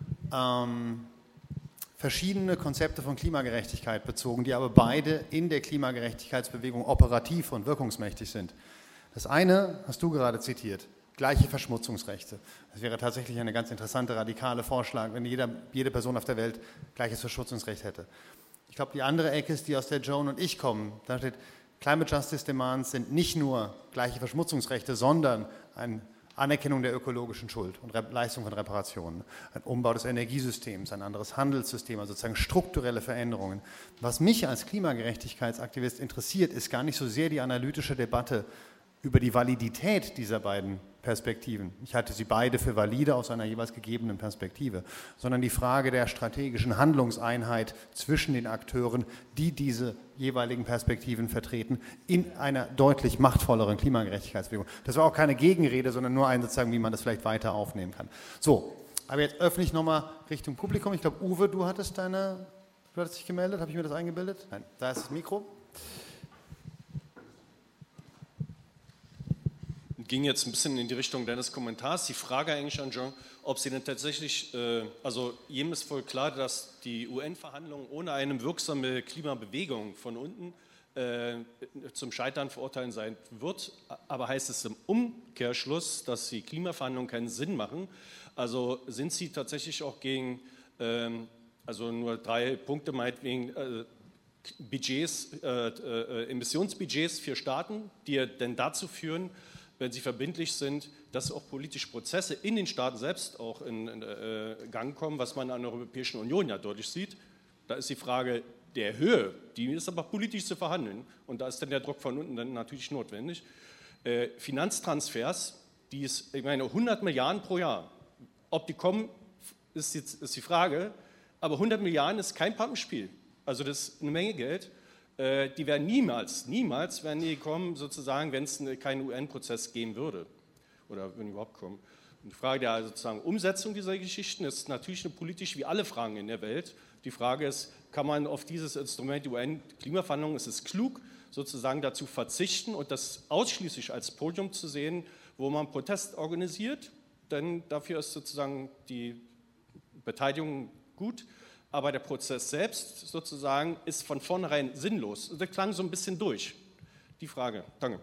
verschiedene Konzepte von Klimagerechtigkeit bezogen, die aber beide in der Klimagerechtigkeitsbewegung operativ und wirkungsmächtig sind. Das eine hast du gerade zitiert, gleiche Verschmutzungsrechte. Das wäre tatsächlich eine ganz interessante, radikale Vorschlag, wenn jede Person auf der Welt gleiches Verschmutzungsrecht hätte. Ich glaube, die andere Ecke ist die, aus der Joan und ich kommen. Da steht, Climate Justice Demands sind nicht nur gleiche Verschmutzungsrechte, sondern eine Anerkennung der ökologischen Schuld und Leistung von Reparationen, ein Umbau des Energiesystems, ein anderes Handelssystem, also sozusagen strukturelle Veränderungen. Was mich als Klimagerechtigkeitsaktivist interessiert, ist gar nicht so sehr die analytische Debatte über die Validität dieser beiden Perspektiven. Ich halte sie beide für valide aus einer jeweils gegebenen Perspektive, sondern die Frage der strategischen Handlungseinheit zwischen den Akteuren, die diese jeweiligen Perspektiven vertreten, in einer deutlich machtvolleren Klimagerechtigkeitsbewegung. Das war auch keine Gegenrede, sondern nur ein sozusagen, wie man das vielleicht weiter aufnehmen kann. So, aber jetzt öffne ich nochmal Richtung Publikum. Ich glaube, Uwe, du hattest dich gemeldet. Habe ich mir das eingebildet? Nein, da ist das Mikro. Ging jetzt ein bisschen in die Richtung deines Kommentars. Die Frage eigentlich an Jean, ob sie denn tatsächlich, also jedem ist voll klar, dass die UN-Verhandlungen ohne eine wirksame Klimabewegung von unten zum Scheitern verurteilen sein wird. Aber heißt es im Umkehrschluss, dass die Klimaverhandlungen keinen Sinn machen? Also sind sie tatsächlich auch gegen, also nur 3 Punkte meinetwegen, Budgets, Emissionsbudgets für Staaten, die denn dazu führen, wenn sie verbindlich sind, dass auch politische Prozesse in den Staaten selbst auch in Gang kommen, was man an der Europäischen Union ja deutlich sieht. Da ist die Frage der Höhe, die ist aber politisch zu verhandeln und da ist dann der Druck von unten dann natürlich notwendig. Finanztransfers, ich meine 100 Milliarden pro Jahr, ob die kommen, ist die Frage, aber 100 Milliarden ist kein Pappenspiel, also das ist eine Menge Geld. Die werden niemals werden die kommen, sozusagen, wenn es keinen UN-Prozess geben würde oder wenn die überhaupt kommen. Und die Frage der sozusagen Umsetzung dieser Geschichten ist natürlich eine politisch wie alle Fragen in der Welt. Die Frage ist, kann man auf dieses Instrument, die UN-Klimaverhandlungen, ist es klug, sozusagen dazu verzichten und das ausschließlich als Podium zu sehen, wo man Protest organisiert, denn dafür ist sozusagen die Beteiligung gut. Aber der Prozess selbst sozusagen ist von vornherein sinnlos. Das klang so ein bisschen durch. Die Frage. Danke.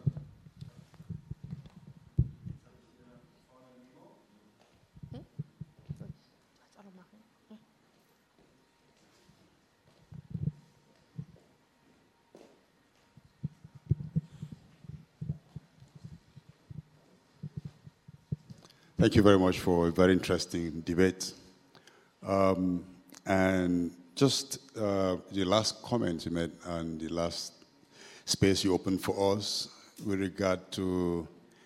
Thank you very much for a very interesting debate. And just the last comment you made and the last space you opened for us with regard to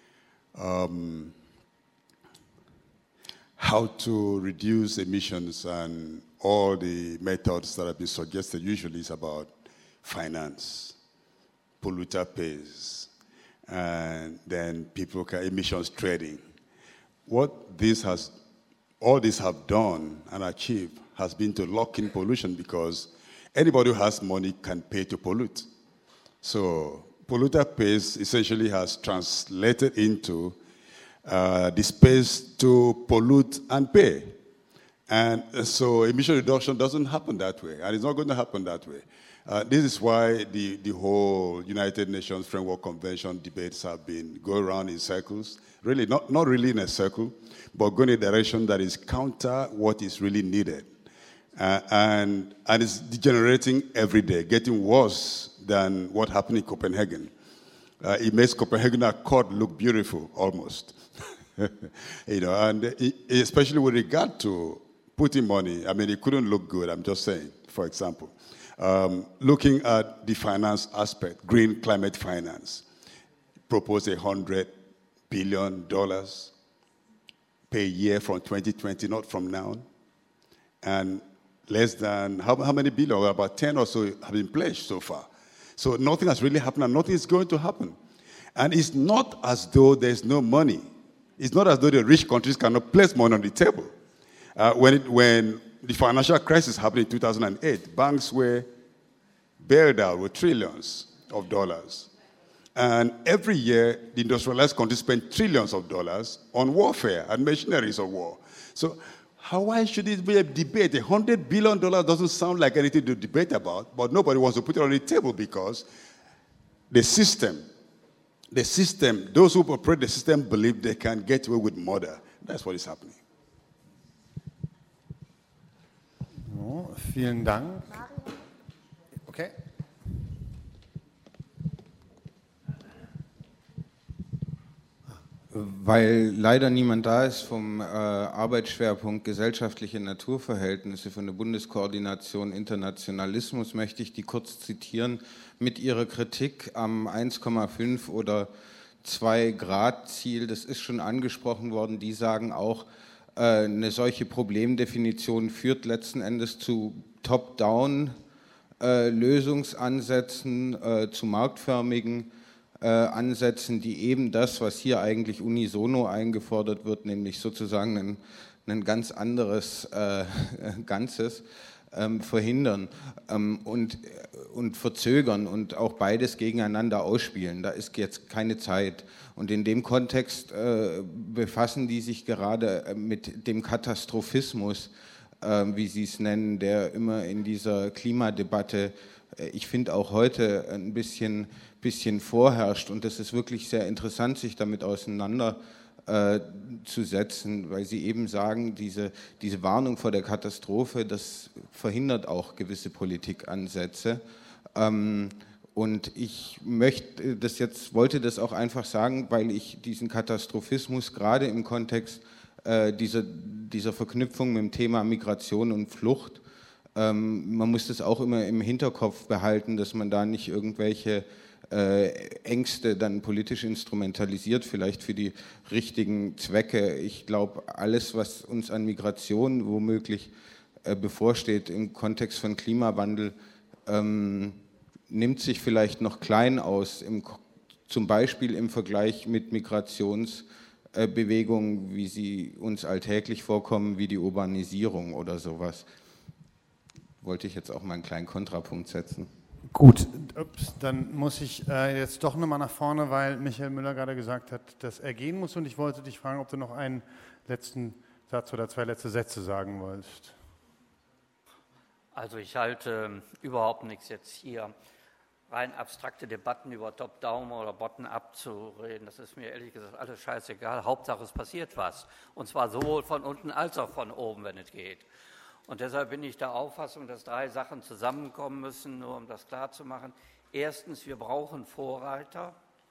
how to reduce emissions and all the methods that have been suggested usually is about finance, polluter pays, and then people can emissions trading. What all this have done and achieved has been to lock in pollution because anybody who has money can pay to pollute. So polluter pays essentially has translated into the space to pollute and pay. And so emission reduction doesn't happen that way, and it's not going to happen that way. This is why the whole United Nations Framework Convention debates have been going around in circles, really not really in a circle, but going in a direction that is counter what is really needed. And it's degenerating every day, getting worse than what happened in Copenhagen. It makes Copenhagen Accord look beautiful, almost. And especially with regard to putting money, I mean, it couldn't look good, I'm just saying, for example. Looking at the finance aspect, green climate finance, proposed $100 billion per year from 2020, not from now. And less than, how many billion? About 10 or so have been pledged so far. So nothing has really happened, and nothing is going to happen. And it's not as though there's no money. It's not as though the rich countries cannot place money on the table. When the financial crisis happened in 2008, banks were bailed out with trillions of dollars. And every year, the industrialized countries spend trillions of dollars on warfare and machineries of war. So why should it be a debate? $100 billion doesn't sound like anything to debate about, but nobody wants to put it on the table because the system, those who operate the system believe they can get away with murder. That's what is happening. Oh, vielen Dank. Okay. Weil leider niemand da ist vom Arbeitsschwerpunkt gesellschaftliche Naturverhältnisse von der Bundeskoordination Internationalismus, möchte ich die kurz zitieren mit ihrer Kritik am 1,5 oder 2 Grad Ziel. Das ist schon angesprochen worden. Die sagen auch, eine solche Problemdefinition führt letzten Endes zu Top-Down Lösungsansätzen, zu marktförmigen Ansätzen, die eben das, was hier eigentlich unisono eingefordert wird, nämlich sozusagen ein ganz anderes Ganzes, verhindern und verzögern und auch beides gegeneinander ausspielen. Da ist jetzt keine Zeit. Und in dem Kontext befassen die sich gerade mit dem Katastrophismus, wie Sie es nennen, der immer in dieser Klimadebatte, ich finde auch heute ein bisschen vorherrscht. Und das ist wirklich sehr interessant, sich damit auseinanderzusetzen, weil Sie eben sagen, diese Warnung vor der Katastrophe, das verhindert auch gewisse Politikansätze. Und ich wollte das auch einfach sagen, weil ich diesen Katastrophismus gerade im Kontext dieser Verknüpfung mit dem Thema Migration und Flucht, man muss das auch immer im Hinterkopf behalten, dass man da nicht irgendwelche Ängste dann politisch instrumentalisiert, vielleicht für die richtigen Zwecke. Ich glaube, alles, was uns an Migration womöglich bevorsteht im Kontext von Klimawandel, nimmt sich vielleicht noch klein aus, zum Beispiel im Vergleich mit Migrationsbewegungen, wie sie uns alltäglich vorkommen, wie die Urbanisierung oder sowas. Wollte ich jetzt auch mal einen kleinen Kontrapunkt setzen. Gut, dann muss ich jetzt doch nochmal nach vorne, weil Michael Müller gerade gesagt hat, dass er gehen muss, und ich wollte dich fragen, ob du noch einen letzten Satz oder 2 letzte Sätze sagen wolltest. Also ich halte überhaupt nichts jetzt hier rein abstrakte Debatten über Top-Down oder Bottom-Up zu reden. Das ist mir ehrlich gesagt alles scheißegal. Hauptsache es passiert was. Und zwar sowohl von unten als auch von oben, wenn es geht. Und deshalb bin ich der Auffassung, dass 3 Sachen zusammenkommen müssen, nur um das klarzumachen. Erstens, wir brauchen Vorreiter,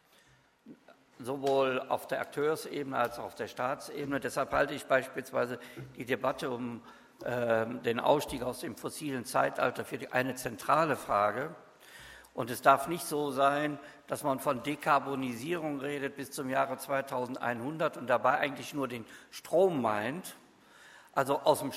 sowohl auf der Akteursebene als auch auf der Staatsebene. Deshalb halte ich beispielsweise die Debatte um den Ausstieg aus dem fossilen Zeitalter für eine zentrale Frage. Und es darf nicht so sein, dass man von Dekarbonisierung redet bis zum Jahre 2100 und dabei eigentlich nur den Strom meint. Also aus dem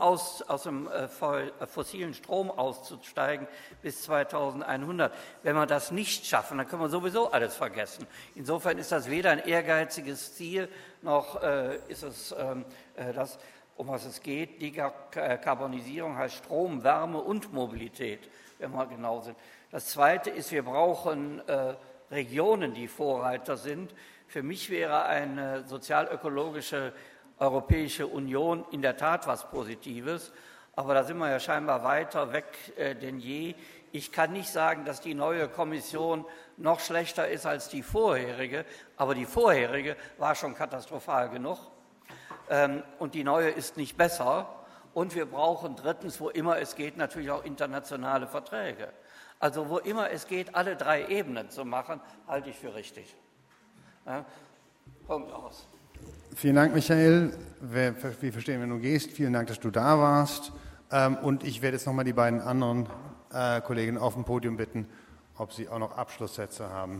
fossilen Strom auszusteigen bis 2100. Wenn wir das nicht schaffen, dann können wir sowieso alles vergessen. Insofern ist das weder ein ehrgeiziges Ziel, noch ist es das, um was es geht. Dekarbonisierung heißt Strom, Wärme und Mobilität, wenn wir genau sind. Das Zweite ist, wir brauchen Regionen, die Vorreiter sind Für mich wäre eine sozial-ökologische Europäische Union in der Tat was Positives, aber da sind wir ja scheinbar weiter weg denn je. Ich kann nicht sagen, dass die neue Kommission noch schlechter ist als die vorherige, aber die vorherige war schon katastrophal genug und die neue ist nicht besser. Und wir brauchen drittens, wo immer es geht, natürlich auch internationale Verträge. Also wo immer es geht, alle 3 Ebenen zu machen, halte ich für richtig. Ja, Punkt aus. Vielen Dank, Michael. Wir verstehen, wenn du gehst. Vielen Dank, dass du da warst. Und ich werde jetzt nochmal die beiden anderen Kollegen auf dem Podium bitten, ob sie auch noch Abschlusssätze haben.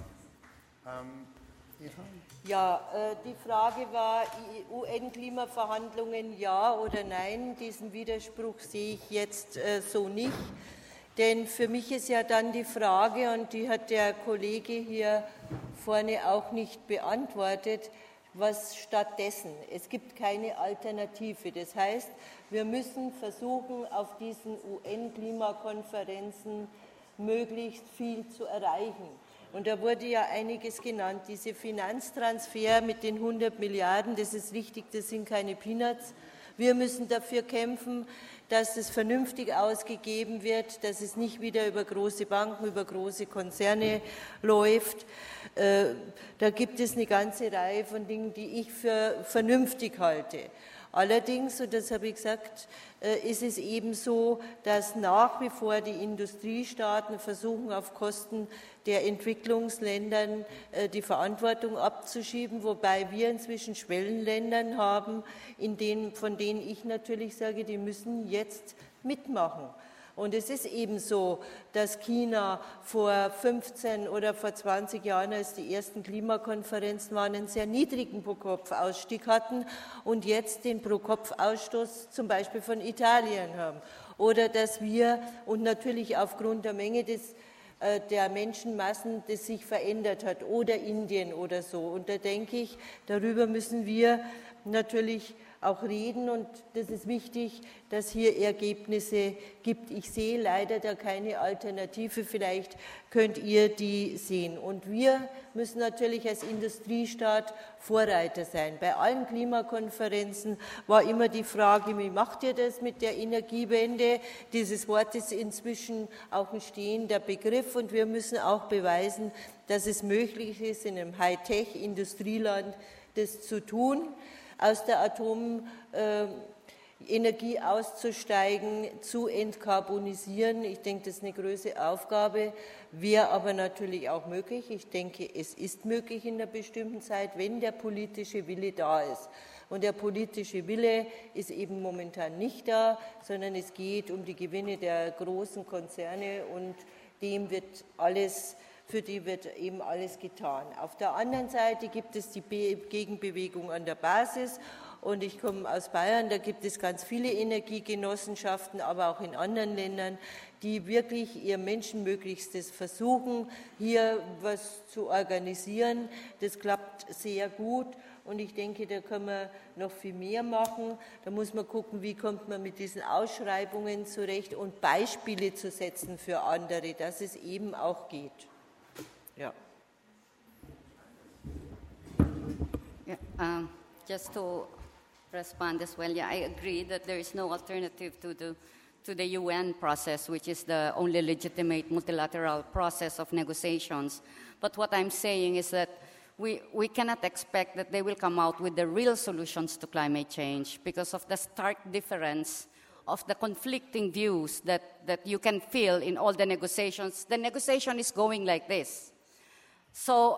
Ja, die Frage war, UN-Klimaverhandlungen ja oder nein. Diesen Widerspruch sehe ich jetzt so nicht. Denn für mich ist ja dann die Frage, und die hat der Kollege hier vorne auch nicht beantwortet, was stattdessen? Es gibt keine Alternative. Das heißt, wir müssen versuchen, auf diesen UN-Klimakonferenzen möglichst viel zu erreichen. Und da wurde ja einiges genannt. Diese Finanztransfer mit den 100 Milliarden, das ist richtig, das sind keine Peanuts. Wir müssen dafür kämpfen, dass es vernünftig ausgegeben wird, dass es nicht wieder über große Banken, über große Konzerne läuft. Da gibt es eine ganze Reihe von Dingen, die ich für vernünftig halte. Allerdings, und das habe ich gesagt, ist es eben so, dass nach wie vor die Industriestaaten versuchen, auf Kosten der Entwicklungsländern die Verantwortung abzuschieben, wobei wir inzwischen Schwellenländern haben, von denen ich natürlich sage, die müssen jetzt mitmachen. Und es ist eben so, dass China vor 15 oder vor 20 Jahren, als die ersten Klimakonferenzen waren, einen sehr niedrigen Pro-Kopf-Ausstieg hatten und jetzt den Pro-Kopf-Ausstoß zum Beispiel von Italien haben. Oder dass wir, und natürlich aufgrund der Menge der Menschenmassen, das sich verändert hat, oder Indien oder so. Und da denke ich, darüber müssen wir natürlich auch reden, und das ist wichtig, dass hier Ergebnisse gibt. Ich sehe leider da keine Alternative, vielleicht könnt ihr die sehen. Und wir müssen natürlich als Industriestaat Vorreiter sein. Bei allen Klimakonferenzen war immer die Frage, wie macht ihr das mit der Energiewende? Dieses Wort ist inzwischen auch ein stehender Begriff, und wir müssen auch beweisen, dass es möglich ist, in einem Hightech-Industrieland das zu tun, aus der Atomenergie auszusteigen, zu entkarbonisieren. Ich denke, das ist eine große Aufgabe, wäre aber natürlich auch möglich. Ich denke, es ist möglich in einer bestimmten Zeit, wenn der politische Wille da ist. Und der politische Wille ist eben momentan nicht da, sondern es geht um die Gewinne der großen Konzerne, und für die wird eben alles getan. Auf der anderen Seite gibt es die Gegenbewegung an der Basis, und ich komme aus Bayern, da gibt es ganz viele Energiegenossenschaften, aber auch in anderen Ländern, die wirklich ihr Menschenmöglichstes versuchen, hier was zu organisieren. Das klappt sehr gut, und ich denke, da können wir noch viel mehr machen. Da muss man gucken, wie kommt man mit diesen Ausschreibungen zurecht und Beispiele zu setzen für andere, dass es eben auch geht. Yeah. Yeah, just to respond as well, yeah, I agree that there is no alternative to the UN process, which is the only legitimate multilateral process of negotiations. But what I'm saying is that we cannot expect that they will come out with the real solutions to climate change because of the stark difference of the conflicting views that you can feel in all the negotiations. The negotiation is going like this. So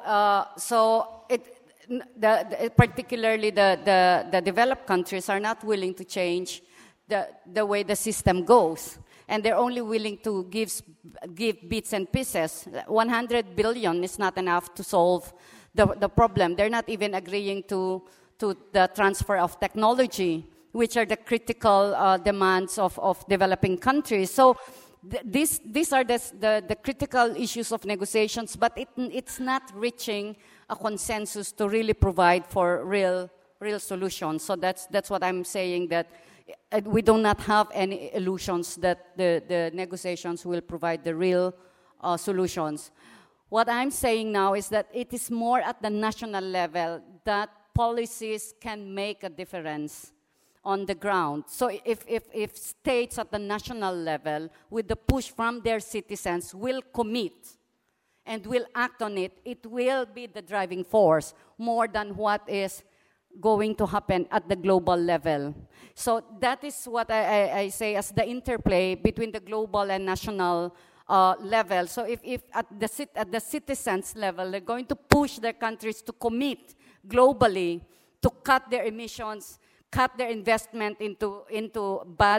particularly the developed countries are not willing to change the way the system goes, and they're only willing to give bits and pieces. 100 billion is not enough to solve the problem. They're not even agreeing to the transfer of technology, which are the critical demands of developing countries. So these are the critical issues of negotiations, but it's not reaching a consensus to really provide for real solutions. So that's what I'm saying, that we do not have any illusions that the negotiations will provide the real solutions. What I'm saying now is that it is more at the national level that policies can make a difference on the ground. So if states at the national level, with the push from their citizens, will commit and will act on it, it will be the driving force more than what is going to happen at the global level. So that is what I say as the interplay between the global and national level. So if at the citizens level, they're going to push their countries to commit globally to cut their emissions, cut their investment into bad,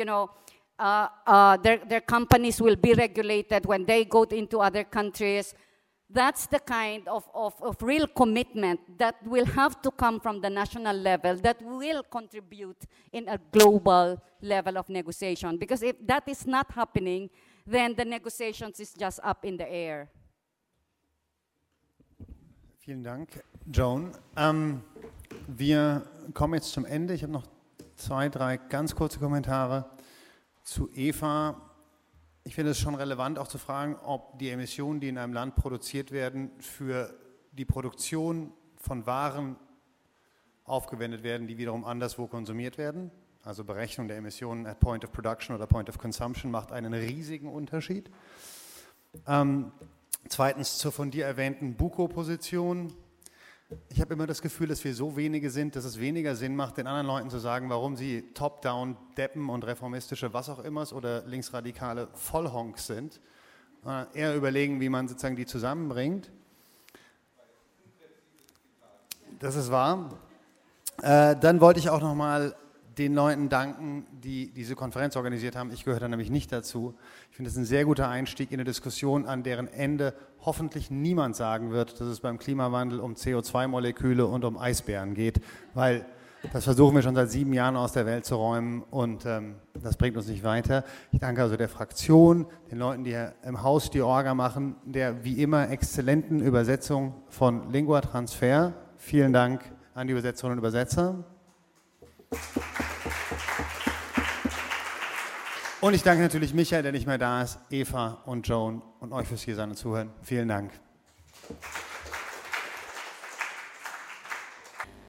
their companies will be regulated when they go into other countries. That's the kind of real commitment that will have to come from the national level that will contribute in a global level of negotiation. Because if that is not happening, then the negotiations is just up in the air. Vielen Dank, Joan. Wir kommen jetzt zum Ende. Ich habe noch 2, 3 ganz kurze Kommentare zu Eva. Ich finde es schon relevant, auch zu fragen, ob die Emissionen, die in einem Land produziert werden, für die Produktion von Waren aufgewendet werden, die wiederum anderswo konsumiert werden. Also Berechnung der Emissionen at Point of Production oder Point of Consumption macht einen riesigen Unterschied. Zweitens zur von dir erwähnten Buko-Position. Ich habe immer das Gefühl, dass wir so wenige sind, dass es weniger Sinn macht, den anderen Leuten zu sagen, warum sie top-down Deppen und reformistische was auch immer oder linksradikale Vollhonks sind. Eher überlegen, wie man sozusagen die zusammenbringt. Das ist wahr. Dann wollte ich auch nochmal den Leuten danken, die diese Konferenz organisiert haben. Ich gehöre da nämlich nicht dazu. Ich finde es ein sehr guter Einstieg in eine Diskussion, an deren Ende hoffentlich niemand sagen wird, dass es beim Klimawandel um CO2-Moleküle und um Eisbären geht, weil das versuchen wir schon seit 7 Jahren aus der Welt zu räumen und das bringt uns nicht weiter. Ich danke also der Fraktion, den Leuten, die hier im Haus die Orga machen, der wie immer exzellenten Übersetzung von Lingua Transfer. Vielen Dank an die Übersetzerinnen und Übersetzer. Und ich danke natürlich Michael, der nicht mehr da ist, Eva und Joan und euch fürs Hiersein und Zuhören. Vielen Dank.